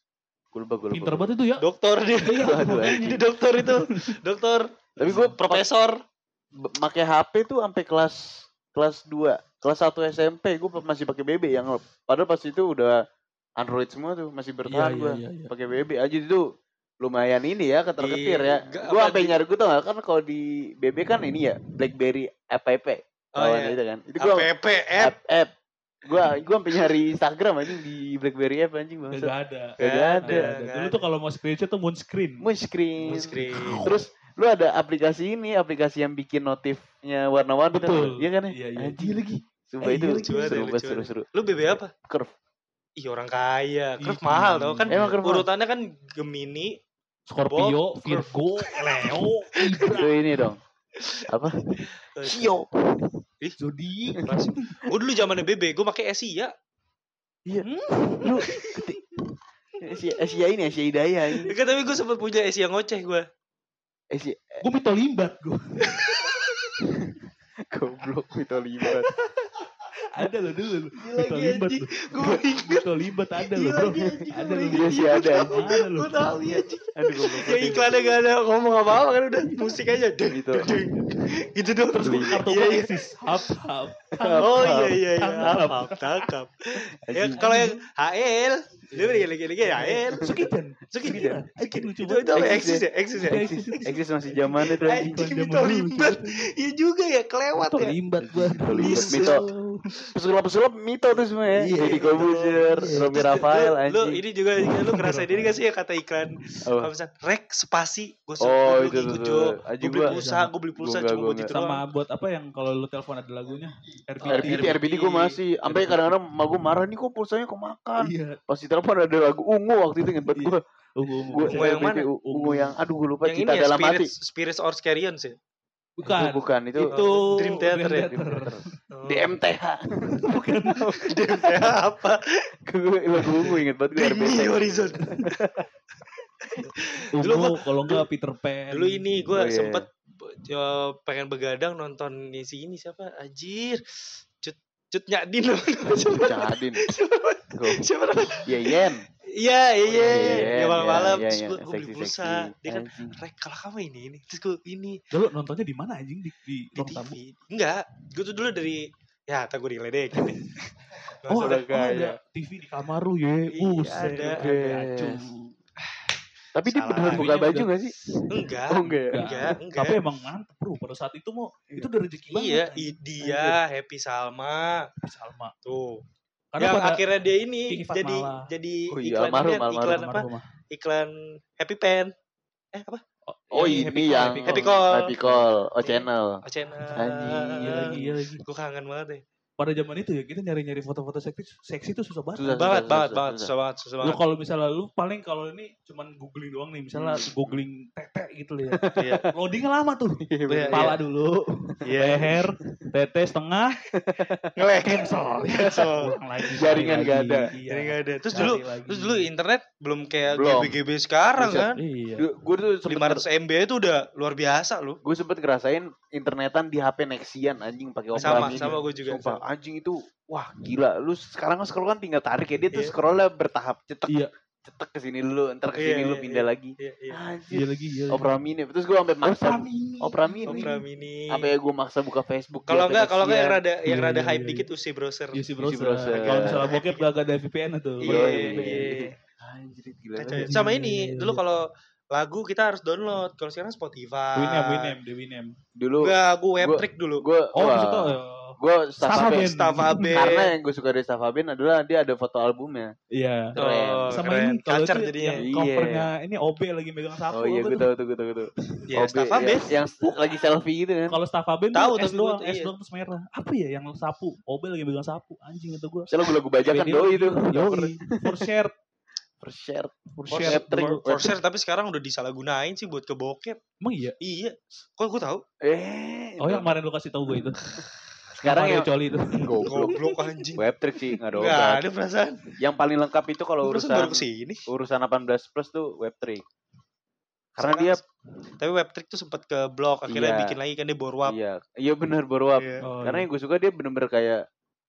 Gue lupa. Pinter banget itu ya. Dokter dia. Aduh, Jadi dokter itu. Dokter. Tapi gue Profesor. pakai HP tuh sampai kelas 2, kelas 1 SMP gue masih pakai BB yang padahal pas itu udah Android semua tuh, masih bertahan gue pakai BB aja itu lumayan ini ya ketir-ketir ya. Gue sampai nyari, gue tau gak kan kalau di BB kan ini ya BlackBerry app itu kan. Itu gue app. Gue sampai nyari Instagram anjing di BlackBerry app anjing bangsa. Gak ada. Dulu tuh kalau mau screenshot tuh moon screen. Terus lu ada aplikasi yang bikin notifnya warna-warni. Betul. Iya kan ya? Iya. Anjing lagi. Sumpah itu seru. Lu BB apa? Curve. Ih orang kaya. Curve mahal tau kan. Emang Curve urutannya kan Gemini, Scorpio, Virgo, Leo, Itu ini dong. Apa? Sio. Zodiac. Gue dulu zamannya BB, gue pakai Asia. Iya. Lu Asia Hidayah ini. Kan tapi gue sempat punya Asia ngoceh gue. Gue Mito Limbat gue. Goblok Mito Limbat. Ada lo dulu. Mito Limbat lo. Mito Limbat ada lo bro. Ada lo. Iya sih ada. Gue tahu ya. Aduh goblok. Yang iklannya gak ada ngomong apa-apa kan udah musik aja. Gitu. Gitu dong. Terus kartu eksis. Hap. Oh iya. Hap. Tangkap. Ya kalau yang HL, dia lagi HL. Sukidan. Itu apa eksis ya? Eksis masih zaman itu. Anjing Mito Limbat. Iya juga ya, kelewat ya. Limbat gua. Mito. Pesulap Mito tuh semua ya. Jadi Kobuzer, Romi Rafael anjing. Lu ini juga lu ngerasain ini gak sih ya kata iklan apa misalnya rek spasi gue itu tuh. Gue beli pulsa cuma buat itu doang. Sama buat apa yang kalau lu telepon ada lagunya? RBD gue masih sampai kadang-kadang emak gue marah nih kok pulsanya kemakan. Iya. Pas di telepon ada lagu Ungu waktu itu inget banget gue. Ungu yang mana? Ungu yang aduh gue lupa yang Cita ini ya, Dalam Hati. Spirits or Scarions ya? Bukan itu Dream Theater ya? DMTH. Bukan. DMTH apa? Gue lagu Ungu inget banget gue RBD Horizon. Ungu kalau enggak Peter Pan. Dulu ini gue sempet pengen begadang nonton si ini siapa? Anjir. Cut Nyadin. Nyadin. Siapa namanya? Yen. Iya. Malam-malam terus gue beli pulsa. Dia kan rek kalau kamu ini. Terus gue ini. Dulu nontonnya di mana anjing di ruang tamu? Enggak. Gue tuh dulu dari ya tak gue diledekin deh. Ada TV di kamar lu ya. Ada. Tapi dia beneran buka baju gak sih? Enggak. Tapi emang mantep bro. Pada saat itu itu udah rezeki banget. Iya, dia Happy Salma. Tuh. Karena yang akhirnya dia ini jadi iklan Happy Pen. Apa? Oh ini yang Happy Call. Channel. Iya lagi. Gue kangen banget deh. Pada zaman itu ya kita nyari-nyari foto-foto seksi itu susah banget. Susah banget. Lu kalau misalnya lu paling kalau ini cuman googling doang nih, misalnya googling tete gitu ya. Loadingnya lama tuh. Kepala dulu, leher, tete setengah, cancel. Jaringan gak ada. Terus dulu internet belum kayak GB sekarang kan. Gue tuh 500 MB itu udah luar biasa lu. Gue sempet ngerasain internetan di HP Nexian anjing pakai Opera Mini. Sama gue juga. Sumpah, anjing itu wah gila. Lu sekarang scroll kan tinggal tarik ya, dia tuh scrollnya bertahap cetek ke sini dulu, ntar ke sini lu pindah lagi. Anjir. Iya. Opera Mini. Terus gue sampai maksa Opera Mini. Sampai gue maksa buka Facebook. Kalau enggak yang rada hype dikit UC browser. Kalau misalnya bokep gak ada VPN tuh. Iya. Anjir gila. Sama ini dulu kalau lagu kita harus download. Kalau sekarang Spotify. Winem. Dulu gue Webtrick dulu. Gue Stafaben. Karena yang gue suka dari Stafaben adalah dia ada foto albumnya. Iya. Sama ini culture jadinya. Covernya ini OB lagi megang sapu. Oh iya gue tahu. Iya Stafaben yang lagi selfie gitu kan. Kalau Stafaben tahu S doang terus merah. Apa ya yang sapu? OB lagi megang sapu. Anjing itu gue. Saya lagu bajakan doi itu. For share tapi sekarang udah disalahgunain sih buat ke bokep. Emang iya? Iya. Kok gue tahu? Yang kemarin lu kasih tahu gue itu. Sekarang yang coli itu. Goblok anjing. Webtrick sih enggak ada obat. Enggak ada perasaan. Yang paling lengkap itu kalau urusan 18 plus tuh Webtrick. Karena dia tapi Webtrick tuh sempat ke blog akhirnya bikin lagi kan dia borwap. Iya benar borwap. Karena yang gue suka dia bener-bener kayak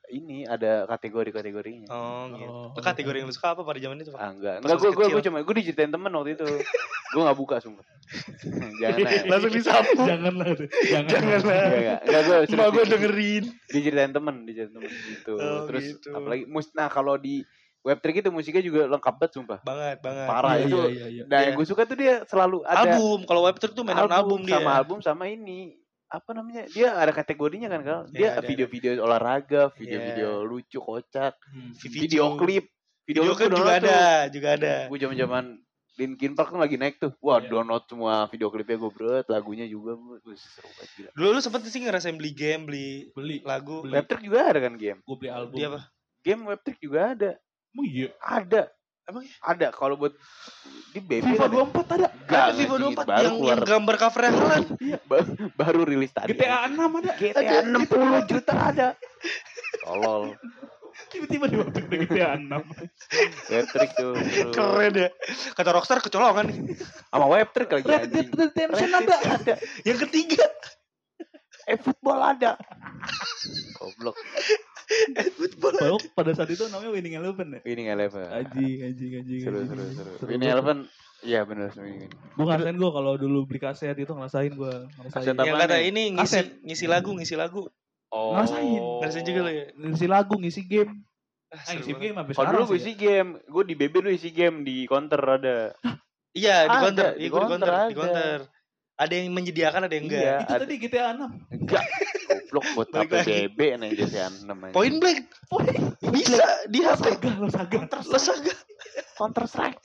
ini ada kategori-kategorinya. Oh gitu. Kategori yang lu suka apa pada zaman itu, Pak? Enggak, gue diceritain temen waktu itu. Gue enggak buka sumpah. Jangan lah. Langsung disapu. Janganlah. Enggak, gue dengerin. Diceritain temen gitu. Terus gitu. Apalagi kalau di Web3 itu musiknya juga lengkap banget sumpah. Banget. Parah itu. Dan yang gue suka tuh dia selalu ada album. Kalau Web3 tuh mainan album dia. Sama ini. Apa namanya? Dia ada kategorinya kan, Kal. Dia video-video olahraga, video-video lucu, kocak, video klip. Video klip juga ada. Gue zaman-zaman Linkin Park kan lagi naik tuh. Wah, download semua video klipnya gue lagunya juga seru banget gila. Dulu lu sempet sih ngerasain beli game, beli lagu. Web3 juga ada kan game? Gue beli album. Dia apa? Game Web3 juga ada. Oh iya. Ada. Emang ada kalau buat di BB FIFA 24 ada. Ada FIFA 24 yang gambar covernya Haaland. Iya, baru rilis tadi. GTA 6 ada. GTA 60 juta ada. Tolol. Tiba-tiba diwaktu GTA 6. Web3 tuh. Keren ya. Kata Rockstar kecolongan. Sama Web3 lagi anjing. Redemption ada. Yang ketiga. Football ada. Goblok. Football. Pada saat itu namanya Winning Eleven ya? Winning Eleven. Anjing. Seru. Winning Eleven. Iya benar ini. Gue ngerasain kalau dulu beli kaset itu ngerasain. Yang kata ini ngisi lagu. Oh. Ngerasain juga lo ya. Ngisi lagu, ngisi game. Ngisi game sampai sekarang. Kalau dulu gue isi game, gue di BB dulu isi game di counter ada. Iya di counter. Ada yang menyediakan, ada yang enggak. Iya, itu tadi GTA 6. Enggak. Goblok buat apa BB nih GTA 6 aja. Point Blank. Bisa di HP. Lo saga. Counter Strike.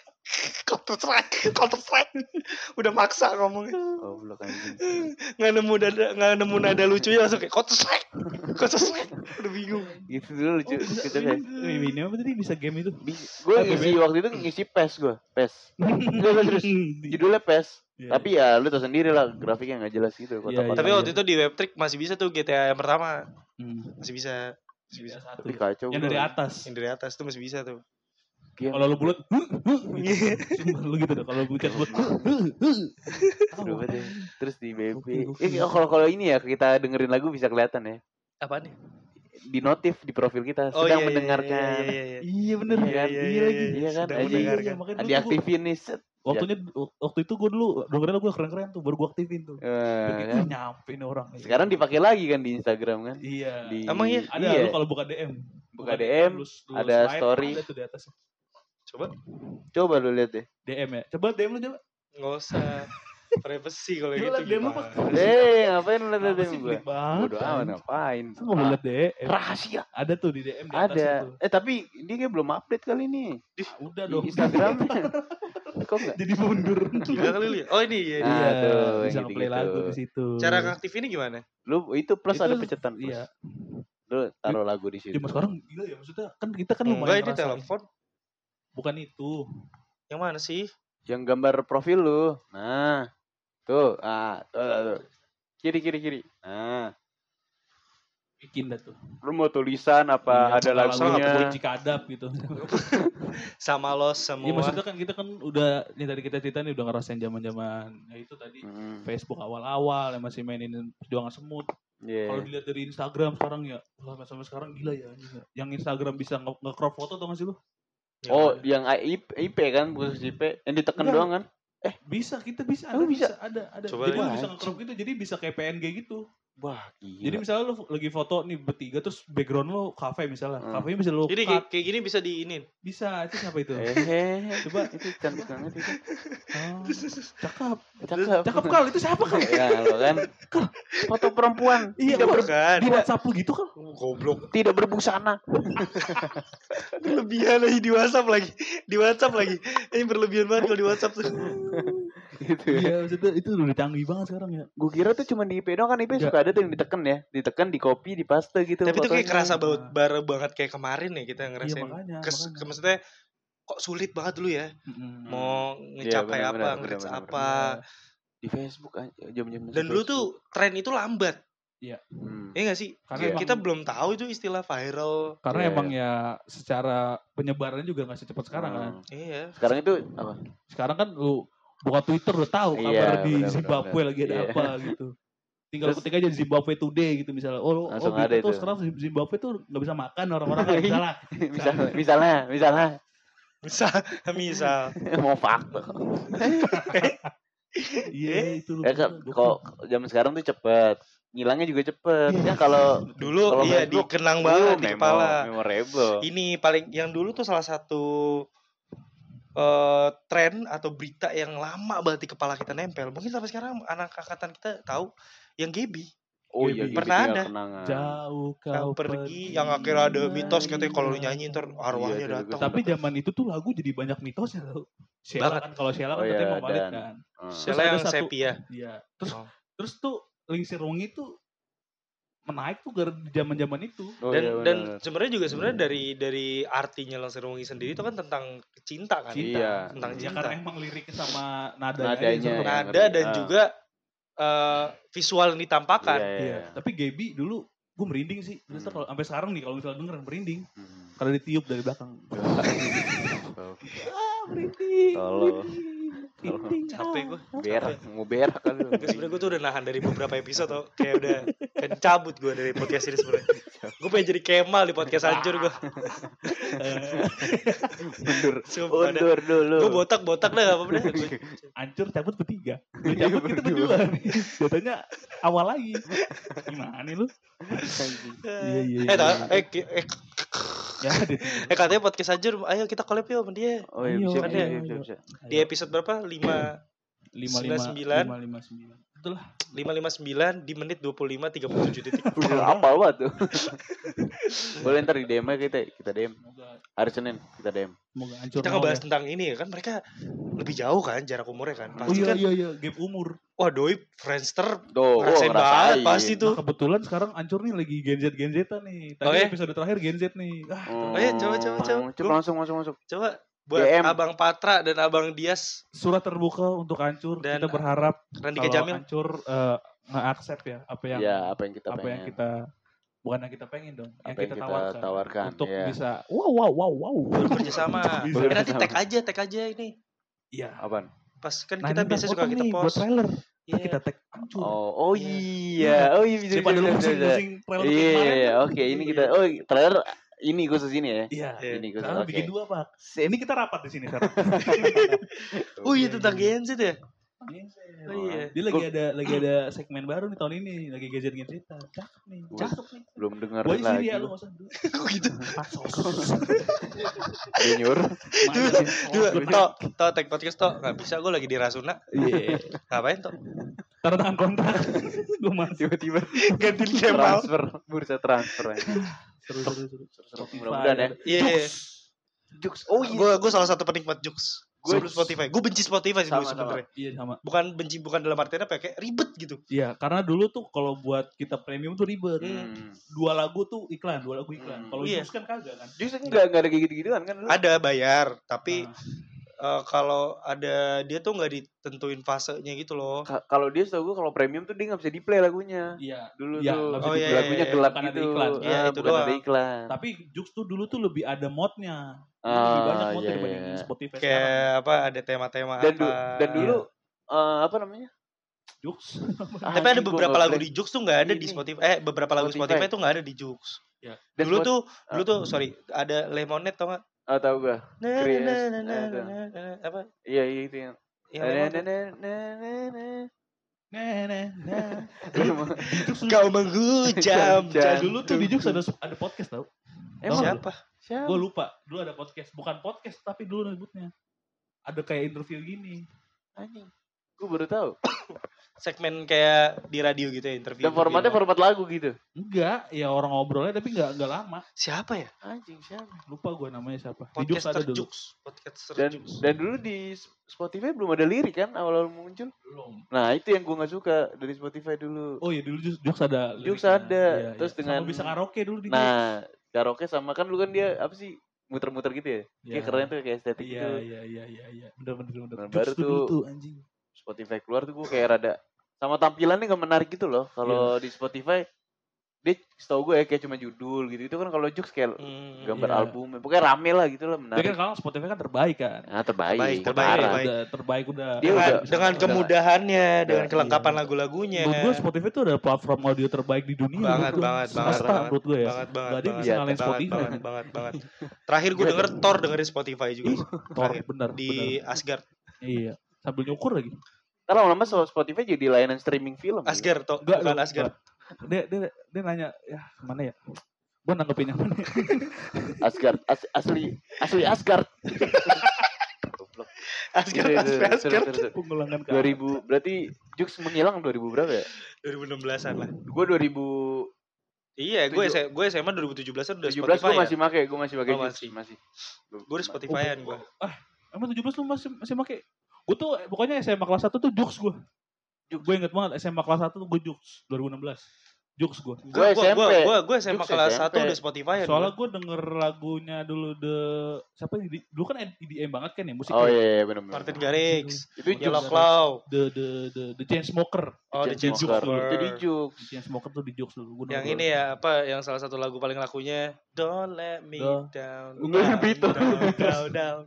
Udah maksa ngomongnya. Goblok anjing. Enggak nemu nada lucunya langsung kayak Counter Strike. Udah bingung. Gitu dulu lucu gitu deh. Ini apa tadi bisa game itu? Gue ngisi waktu itu ngisi PES gue. Terus judulnya PES. Tapi ya lu tau sendiri lah grafiknya nggak jelas gitu. Tapi waktu itu di Web3 masih bisa tuh GTA yang pertama. Masih bisa. Tapi kacau. Yang dari atas tuh masih bisa tuh. Kalau lu bulat, lu gitu deh. Kalau bulat, terus di BB. Kalau ini ya kita dengerin lagu bisa kelihatan ya. Apaan nih? Di notif di profil kita sedang mendengarkan. Iya bener. Iya kan. Diaktifin nih. Waktu itu gue dulu dengerin gue keren-keren tuh, baru gue aktifin tuh. Begitu nyampe nih orang. Sekarang dipakai lagi kan di Instagram kan? Iya. Emang iya? Ada lu kalau buka DM. Buka DM, ada story. Ada tuh di atas. Coba lu lihat deh. DM ya. Coba DM lu coba. Enggak usah. Privacy kalau gitu. DM lu Pak. Ngapain lu lihat DM gue? Bodoh amat ngapain? Mau lihat DM. Rahasia. Ada tuh di DM di atas itu. Tapi dia kayak belum update kali ini. Udah dong. Instagram. Kok enggak? Jadi mundur. Gila kali lihat. Oh ini ya. Iya tuh. Bisa play lagu di situ. Cara ngaktif ini gimana? Lu itu plus ada pencetan plus. Iya. Lu taruh lagu di situ. Cuma sekarang gila ya maksudnya kan kita kan lumayan. Enggak ini telepon. Bukan itu. Yang mana sih? Yang gambar profil lu. Nah. Tuh. Tuh. Kiri. Nah. Bikin dah tuh. Lu mau tulisan apa ada lagunya? Cikadap gitu. Sama lo semua. Iya maksudnya kan kita kan udah ini tadi kita cerita nih udah ngerasain zaman-zaman ya itu tadi Facebook awal-awal yang masih mainin perjuangan semut. Kalau dilihat dari Instagram sekarang ya, sampai sekarang gila ya. Yang Instagram bisa nge-crop foto tau gak sih lu? Yang IP kan, khusus IP yang ditekan doang kan? Bisa, kita bisa. Ada. Coba jadi lu bisa nge-crop gitu, jadi bisa kayak PNG gitu. Wah, gila. Jadi misalnya lu lagi foto nih bertiga terus background lu kafe misalnya. Kafenya bisa lu jadi kayak gini bisa diinin. Bisa, itu siapa itu? Coba itu cantik banget itu. Cakep Kal, itu siapa Kal? Ya lo kan. Foto perempuan. Iya bukan. Di WhatsApp lu gitu Kal. Goblok. Tidak berbusana. Berlebihan lagi di WhatsApp lagi. Ini berlebihan banget kalau di WhatsApp tuh. Gitu ya. Iya, maksudnya itu udah canggih banget sekarang ya. Gue kira tuh cuma di IP doang kan, IP suka ada tuh yang ditekan, di copy, di paste gitu. Tapi itu kayak kerasa baru banget kayak kemarin ya kita ngerasain. Iya, makanya. Maksudnya kok sulit banget dulu ya. Mau ngecapai nge-reach apa. Di Facebook jam-jam. Dan dulu tuh tren itu lambat. Iya. Iya gak sih? Karena kita belum tahu itu istilah viral. Karena emang ya secara penyebarannya juga gak secepat sekarang kan. Iya. Sekarang itu apa? Sekarang kan lu buka Twitter udah tahu kabar di Zimbabwe lagi ada apa gitu. Tinggal ketik aja Zimbabwe Today gitu misalnya. Langsung ada tuh itu. sekarang Zimbabwe tuh nggak bisa makan orang-orang kan misalnya. Misal. Mau fakta. Iya itu. Ya kan kok zaman sekarang tuh cepet. Ngilangnya juga cepet. Ya kalau dulu iya dikenang banget di kepala. Memorable. Ini paling yang dulu tuh salah satu tren atau berita yang lama banget di kepala kita nempel. Mungkin sampai sekarang anak angkatan kita tahu yang Gaby. Oh iya, pernah ada. Jauh kau pergi. Yang akhirnya ada mitos katanya kalau lu nyanyi ntar arwahnya datang. Tapi zaman itu tuh lagu jadi banyak mitosnya tau. Sheila kan, kalau Sheila kan katanya mau balik kan. Sheila yang sepia. Iya. Terus tuh Lingsir Wangi tuh menaik tuh di zaman-zaman itu. Dan sebenarnya dari artinya Lingsir Wangi sendiri itu kan tentang cinta kan. Iya. Tentang cinta. Karena emang liriknya sama nadanya. Nada dan juga visual yang ditampakkan. Iya. Tapi Gaby dulu gue merinding sih. Kalau sampai sekarang nih kalau misalnya denger merinding. Karena ditiup dari belakang. Merinding. Tolong. Capek gue. Mau berak kan lu. Sebenernya gue tuh udah nahan dari beberapa episode tuh. Kayak udah cabut gue dari podcast ini sebenarnya. Gue pengen jadi Kemal di podcast hancur gue. Mundur dulu. Gue botak dah gak apa-apa deh. Hancur cabut bertiga. Lu cabut kita berdua nih. Jatuhnya awal lagi. Gimana nih lu? Katanya podcast hancur, ayo kita collab yuk sama dia. Oh iya bisa. Di episode berapa? 559. Betul lah. 559 di menit 25:37 detik. Udah apal banget tuh. Boleh ntar di DM kita DM. Hari Senin kita DM. Kita ngebahas tentang ini kan, mereka lebih jauh kan jarak umurnya kan. Pasti kan. Iya, gap umur. Wah, doi Friendster ngerasain banget pasti tuh. Nah, kebetulan sekarang Ancur nih lagi Gen Z nih. Tadi episode terakhir Gen Z nih. Coba masuk. Coba buat DM. Abang Patra dan Abang Dias. Surat terbuka untuk Ancur. Dan kita berharap Randika Jamil Ancur nge-accept ya apa yang kita bukan yang kita pengen dong, yang kita tawarkan untuk bisa wow bekerja sama. Nanti tag aja ini. Iya. Apaan? Pas kan kita biasa suka kita post buat trailer. Kita tag Ancur. Oh iya bisa. Daripada lu pusing trailer kemarin. Iya, oke ini kita trailer ini khusus ini ya. Iya. Ini khusus. Bikin dua Pak. Ini kita rapat di sini sekarang. Iya tentang Gen Z ya. Dia lagi ada segmen baru nih tahun ini, lagi Gen Z. Cakep nih. Belum dengar lagi. Lu enggak usah. Kok gitu? Junior. Toh tag podcast toh enggak bisa, gue lagi di Rasuna. Iya. Ngapain toh? Tangan kontrak. Gue masih tiba-tiba ganti Kemal. Bursa transfer. Seru. Mudah-mudahan ya. Iya. Jux. Gue salah satu penikmat Jux. Sebelum Spotify. Gue benci Spotify sih dulu sebenarnya. Iya sama. Bukan dalam artian apa, kayak ribet gitu. Iya, karena dulu tuh kalau buat kita premium tuh ribet. 2 lagu tuh iklan, 2 lagu iklan. Kalau Jux kan kagak kan. Jux enggak ada kayak gitu-gituan kan. Ada bayar, tapi kalau ada dia tuh nggak ditentuin fasenya gitu loh. Kalau dia setahu gue kalau premium tuh dia nggak bisa di play lagunya. Iya. Dulu tuh lagunya gelap gitu. Iya itu bukan doang. Ada iklan. Tapi Jux tuh dulu tuh lebih ada modnya. Lebih banyak mod dibanding Spotify kayak sekarang. Apa ada tema-tema dan dulu apa namanya? Jux. Tapi ada beberapa lagu di Jux tuh nggak ada di Spotify. Beberapa lagu Spotify tuh nggak ada di Jux. Ya. Dulu tuh sorry, ada Lemonade tau nggak? Tahu gua. Apa? Iya itu yang. Kau menghujam. Dulu tuh di Jux ada podcast tau. Siapa? Gue lupa. Dulu ada podcast. Bukan podcast tapi dulu nyebutnya. Ada kayak interview gini. Anjing. Gue baru tahu. Segmen kayak di radio gitu ya, interview. Dan formatnya format lagu gitu. Enggak, ya orang ngobrolnya tapi enggak lama. Siapa ya? Anjing siapa? Lupa gue namanya siapa. Podcaster Jux. Dan dulu di Spotify belum ada lirik kan awal-awal muncul? Belum. Nah, itu yang gue enggak suka dari Spotify dulu. Oh iya dulu Jux ada. Jux ada. Terus dengan sama bisa karaoke dulu di Jux. Nah, karaoke sama kan dulu kan dia apa sih? Muter-muter gitu ya. Kayak keren tuh kayak estetik gitu. Iya. Bener. Baru tuh anjing. Spotify keluar tuh gue kayak rada sama tampilannya gak menarik gitu loh. Kalau di Spotify dia setahu gue ya kayak cuma judul gitu. Itu kan kalau Jux kayak gambar album. Pokoknya rame lah gitu lah, menarik. Dia kan kalau Spotify kan terbaik kan. Nah, terbaik. Terbaik udah. Dia dengan kemudahannya, dengan kelengkapan lagu-lagunya. Menurut gue Spotify itu ada platform audio terbaik di dunia. Banget. Menurut gue ya. Banget. Gak ada yang bisa ngalahin Spotify. Banget. Terakhir gue denger Thor dengerin Spotify juga. Thor bener. Di Asgard. Iya. Sambil nyukur lagi. Karena lama-lama Spotify jadi layanan streaming film. Asgard toh, bukan Asgard. Dia nanya, ya kemana ya? Gue nanggepin yang mana? Asgard, asli Asgard. Asgard. Pengulangan 2000, berarti Jux menghilang 2000 berapa ya? 2016-an lah. Gue 2000. Iya, gue SMA 2017-an udah 17 Spotify. Gue masih pakai, masih. Gue udah Spotify-an gue. Emang 17 lu masih pakai? Gue tuh pokoknya SMA kelas 1 tuh Jux gue. Gue inget banget SMA kelas 1 tuh gue Jux 2016. Jux gue. Gue SMA kelas 1 udah Spotify. Soalnya gue denger lagunya dulu siapa dulu kan EDM banget kan ya musiknya. Oh iya benar. Martin Garrix. Itu Yellow Claw. The Chainsmokers. Oh The Chainsmokers. Itu di Jux. The Chainsmokers tuh di Jux dulu. Yang ini ya apa yang salah satu lagu paling lakunya Don't Let Me Down. Down.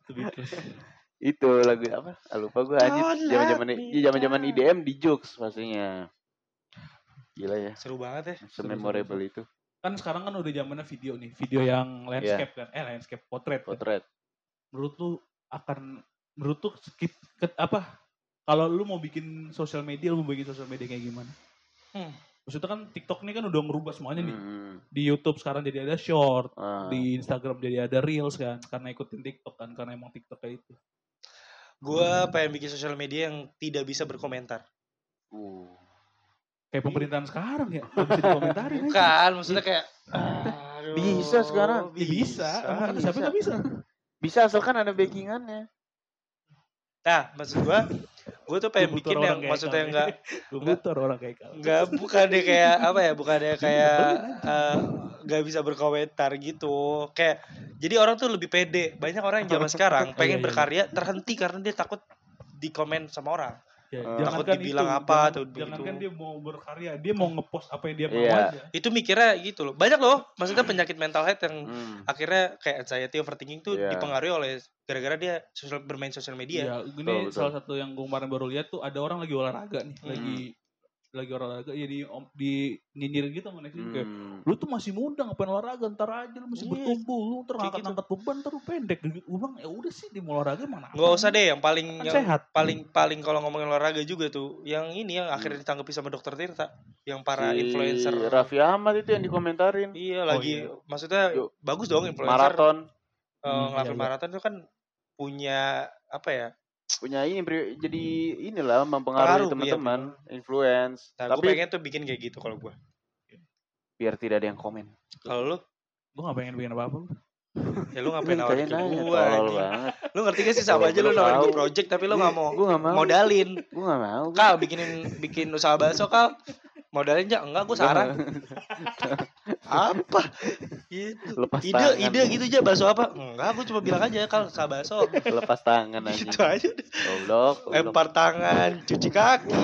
Itu lagu apa? Lupa gue anjir. Zaman-zaman IDM di Jux pastinya. Gila ya. Seru banget ya. Memorable itu. Kan sekarang kan udah zamannya video nih. Video yang landscape kan. Landscape portrait. Menurut lu kalau lu mau bikin sosial media, kayak gimana? Maksudnya kan TikTok ini kan udah ngerubah semuanya nih. Di YouTube sekarang jadi ada short. Di Instagram jadi ada reels kan. Karena ikutin TikTok kan. Karena emang TikTok kayak itu. Gue pengen bikin sosial media yang tidak bisa berkomentar. Kayak pemerintahan sekarang ya. Gak bisa dikomentarin. Bukan, maksudnya kayak bisa sekarang. Bisa. Siapa gak bisa? Bisa asalkan ada backingannya. Nah, maksud gue tuh pengen bikin yang maksudnya bukan deh kayak apa ya, bukan deh kayak nggak bisa berkomentar gitu. Kayak jadi orang tuh lebih pede. Banyak orang yang zaman sekarang pengen berkarya terhenti karena dia takut dikomen sama orang. Takut dibilang apa tuh. Jangankan dia mau berkarya, dia mau ngepost apa yang dia mau aja. Itu mikirnya gitu loh. Banyak loh, maksudnya penyakit mental health yang akhirnya kayak anxiety, overthinking tuh dipengaruhi oleh gara-gara dia bermain sosial media. Iya, ini salah satu yang gue kemarin baru lihat tuh ada orang lagi olahraga nih, lagi olahraga ya di nyinyirin gitu sama netizen kayak lu tuh masih muda ngapain olahraga, ntar aja lu masih bertumbuh, lu ntar ngangkat beban ntar lu pendek. Gue bilang ya udah sih di olahraga mana nggak usah deh yang paling kan sehat. paling kalau ngomongin olahraga juga tuh yang ini yang akhirnya ditanggapi sama dokter Tirta yang para influencer Raffi Ahmad itu yang dikomentarin. Iya lagi maksudnya bagus dong influencer maraton ngelakuin maraton itu kan punya apa ya, punya ini jadi inilah mempengaruhi teman-teman, influence. Nah, tapi gue pengen tuh bikin kayak gitu kalau gue. Biar tidak ada yang komen. Kalau lu? Gue gak pengen bikin apa-apa. Ya lu ngapain nawarin ke gue? Lu ngerti gak sih sama aja lu nawarin gue project tapi lu gak mau modalin. Gue gak mau. Kal bikin usaha bakso Kal. Modalin aja enggak, gue saran. Apa? Gitu. Ide gitu aja, bakso apa? Enggak, gue cuma bilang aja Kal usaha bakso. Lepas tangan aja. Gitu aja deh. Goblok. Lempar tangan, cuci kaki.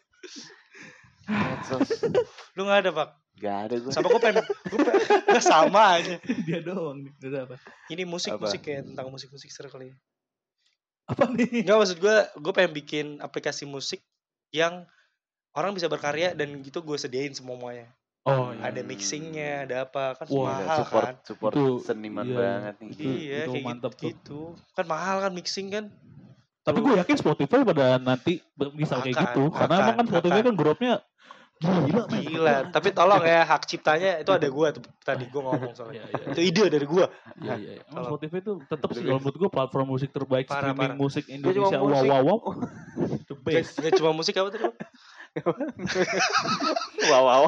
Lu gak ada, Pak? Gak ada gue. Sama gue pengen gak sama aja. Dia doang nih. Udah apa? Ini musik kayak tentang musik seru kali ya. Apa nih? Enggak, maksud gue pengen bikin aplikasi musik yang orang bisa berkarya dan gitu gue sediain semuanya. Oh iya. Ada mixingnya, ada apa kan mahal kan. Support itu, seniman banget nih. Iya itu kayak mantep gitu. Kan mahal kan mixing kan. Tapi gue yakin Spotify pada nanti bisa kayak gitu. Karena emang kan Spotify kan grupnya gila. Tapi tolong ya hak ciptanya itu ada gue tuh tadi gue ngomong soalnya. Itu ide dari gue. Iya. Emang Spotify itu tetap sih kalau menurut gue platform musik terbaik streaming musik Indonesia. Wow. The best. Gak cuma musik apa tadi? Wow.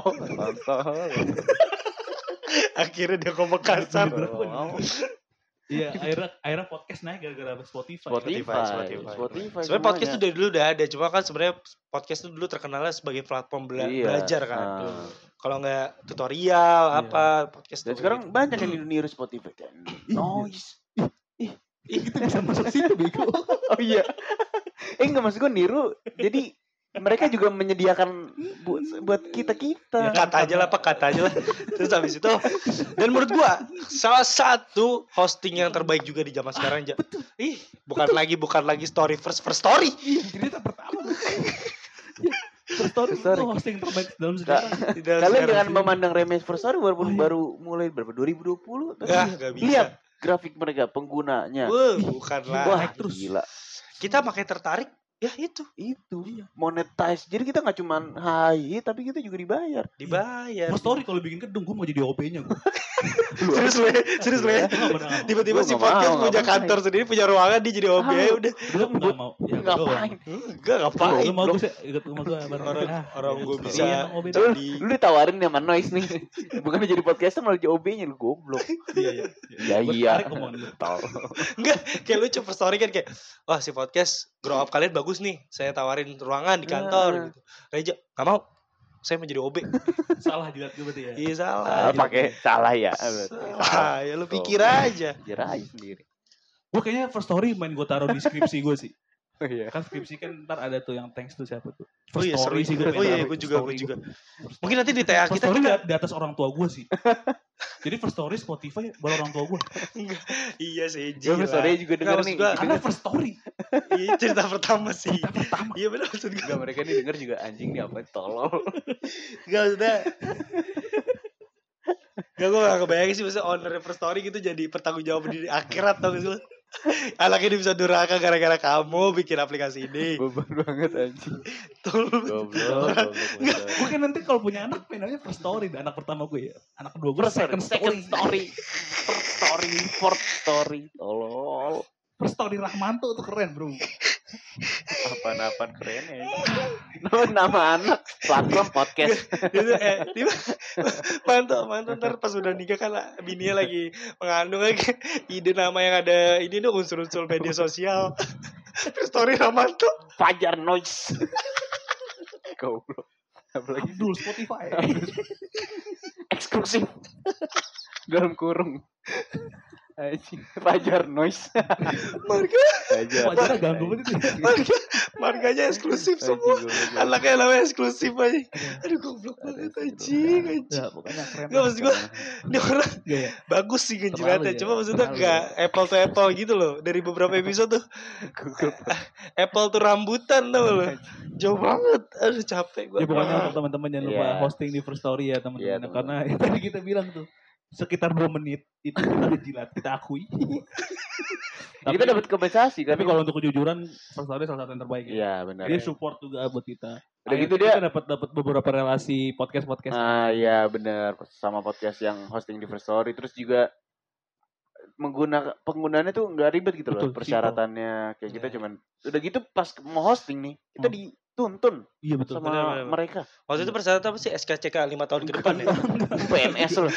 Akhirnya dia ngomong kasar. Iya, akhirnya podcast naik gara-gara Spotify. Sebenarnya podcast itu dari dulu udah ada, cuma kan sebenarnya podcast itu dulu terkenalnya sebagai platform belajar kan. Kalau nggak tutorial podcast. Dan sekarang gitu. Banyak yang niru Spotify kan. Noise. Itu bisa masuk situ bego. Oh iya. Enggak, maksud gue niru. Jadi mereka juga menyediakan buat kita. Ya, kata aja lah. Terus habis itu, dan menurut gua salah satu hosting yang terbaik juga di zaman sekarang aja. Bukan lagi story first story. Cerita pertama. First Story itu hosting terbaik dalam sejarah. Kalian jangan memandang remeh First Story baru mulai berapa 2020. Gak bisa. Lihat grafik mereka penggunanya. Bukanlah. Wah, terus gila. Kita makin tertarik. Ya itu monetize. Jadi kita nggak cuma hai, tapi kita juga dibayar. First Story kalau bikin gedung, gue mau jadi OP-nya gue. serius le. Tiba-tiba si podcast punya kantor sendiri, punya ruangan, dia jadi OP. Udah. Nggak mau. Ngapain? Ngapain? Lu mau gue ikut rumah gue. Orang gue bisa. Lu ditawarin sama Noise nih. Bukan jadi podcaster malah jadi OB-nya, lu goblok. Iya. Enggak, kayak lucu First Story kan kayak, wah si podcast grow up kalian bagus nih, saya tawarin ruangan di kantor gitu. Reja nggak mau, saya mau jadi OB. Salah jilat gue berarti ya. Iya salah. Pakai salah ya. Salah ya, lu pikir aja. Pikir aja sendiri. Gue kayaknya First Story main gue taruh di skripsi gue sih. Iya. Kan skripsi kan ntar ada tuh yang thanks tuh siapa tuh. Story sih gue. Gue juga. Mungkin nanti di TA kita di atas orang tua gue sih. Jadi First Story Spotify baru orang tua gue. Iya sih. First Story juga denger nih. Karena First Story. Iya cerita pertama sih. Iya benar maksud gue. Mereka nih denger juga anjing nih apa tolol. Gak maksudnya. Gak, gue gak kebayang sih maksudnya owner First Story gitu jadi bertanggung jawab di akhirat tau gak sih lo. Anak ini bisa durhaka gara-gara kamu bikin aplikasi ini. Beban banget anjing. Goblok. Gue kan nanti kalau punya anak namanya First Story. Anak pertama gue ya. Anak kedua gue Second Story. Fourth Story. Tolol. First Story Rahmanto tuh keren bro. Apaan keren ya. Nama anak platform podcast. Mantap ntar pas udah nikah kan bininya lagi mengandung lagi ide nama yang ada ini tuh unsur-unsur media sosial. Story Rahmanto. Fajar Noise. Goblok. Apalagi Abdul Spotify. Eksklusif. Dalam kurung. Fajar Noise. Fajar ganggu banget itu. Marganya eksklusif semua. Anaknya namanya eksklusif aja. Aduh goblok banget anjing. Ya pokoknya keren. Enggak maksud gue ini orang bagus sih ngejilatnya. Cuma maksudnya enggak apple to apple gitu loh. Dari beberapa episode tuh apple tuh rambutan tau lo. Jauh banget. Aduh capek gue. Ya pokoknya untuk teman-teman jangan lupa hosting di First Story ya teman-teman. Karena tadi kita bilang tuh sekitar 2 menit itu kita dijilat, kita akui. Tapi, kita dapat kompensasi kan. Tapi kalau untuk kejujuran First Story salah satu yang terbaik ya. Iya benar. Dia support juga buat kita. Udah gitu dia dapat beberapa relasi podcast. Iya benar, sama podcast yang hosting di First Story. Terus juga penggunaannya tuh nggak ribet gitu loh. Persyaratannya kayak kita cuman udah gitu pas mau hosting nih kita dituntun. Iya betul sama bener. Mereka. Waktu itu persyaratan apa sih SKCK 5 tahun ke depan ya? PNS loh.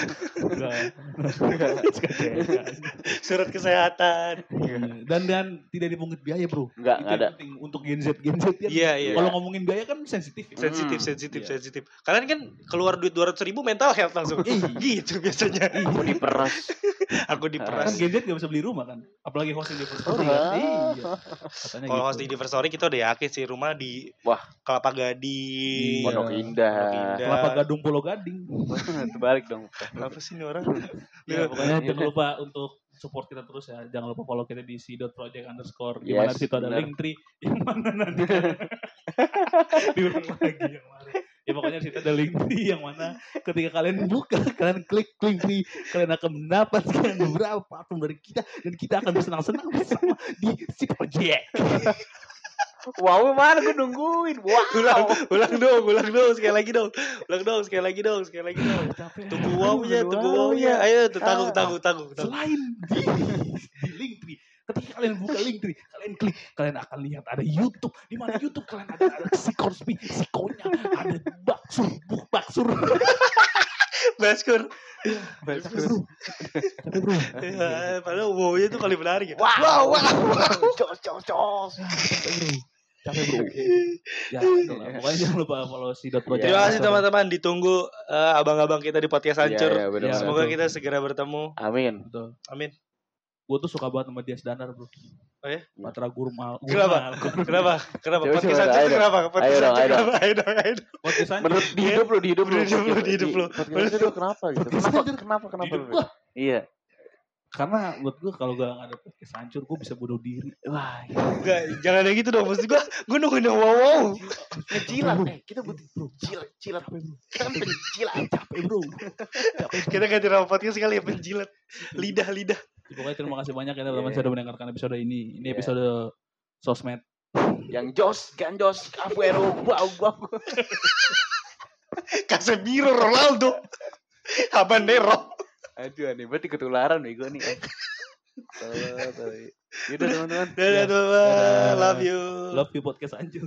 Surat kesehatan. Dan tidak dipungut biaya bro. Enggak ada. Penting untuk Gen Z kan. Iya. Kalau ngomongin biaya kan sensitif. Sensitif. Kalian kan keluar duit 200.000 mental health langsung. Gitu biasanya. Aku diperas. Kan Gen Z gak bisa beli rumah kan. Apalagi hosting di First Story kan. Iya. Kalau hosting di First Story kita udah yakin sih rumah di Kelapa Gading, Pondok Indah, Kelapa Gading, Pulau Gading. Terbalik dong. Apa sih ini orang? Ya, pokoknya jangan lupa untuk support kita terus ya. Jangan lupa follow kita di c.project_. Di mana situ ada Linktree. Yang mana nanti? Diulang lagi yang mana? Ya pokoknya di situ ada Linktree yang mana ketika kalian buka, kalian klik Linktree, kalian akan mendapatkan beberapa platform dari kita dan kita akan bersenang-senang bersama di c.project. Wow, mana gue nungguin. Wow. Ulang dong sekali lagi dong. Tunggu wow-nya. Ayo tanggung. Selain di Linktree, ketika kalian buka Linktree, kalian klik, kalian akan lihat ada YouTube. Di mana YouTube kalian ada sikonya, ada baksur. Baskur. Bro. Padahal wow-nya tuh kali menarik ya. Wow. Cos. Capek bro. Ya, pokoknya jangan lupa follow c.project. Terima kasih teman-teman. Ditunggu abang-abang kita di podcast Hancur. Semoga kita segera bertemu. Amin. Amin. Gue tuh suka banget sama Dias Danar bro. Oh ya? Patra Gurmal. Kenapa? Podcast Sancur itu kenapa? Ayo dong. Podcast Sancur. Menurut di hidup lu. Podcast itu kenapa gitu? Kenapa? Iya. Karena buat gue kalau gue gak ada podcast Sancur, gue bisa bunuh diri. Wah, enggak, jangan kayak gitu dong. Maksud gue nungguin wow. Ngejilat, kita butuh bro. Jilat. Kita kan penjilat. Capek bro. Kita ganti nama podcast sekali ya, penjilat. Lidah. Pokoknya terima kasih banyak ya teman-teman sudah mendengarkan episode ini. Ini episode sosmed. Yang Jos, Ganjos, Aguero, wow. Casemiro, Ronaldo, Habanero. Aduh aneh, berarti ketularan bego nih. Yaudah teman-teman. Dadah teman-teman. Love you podcast Sancur.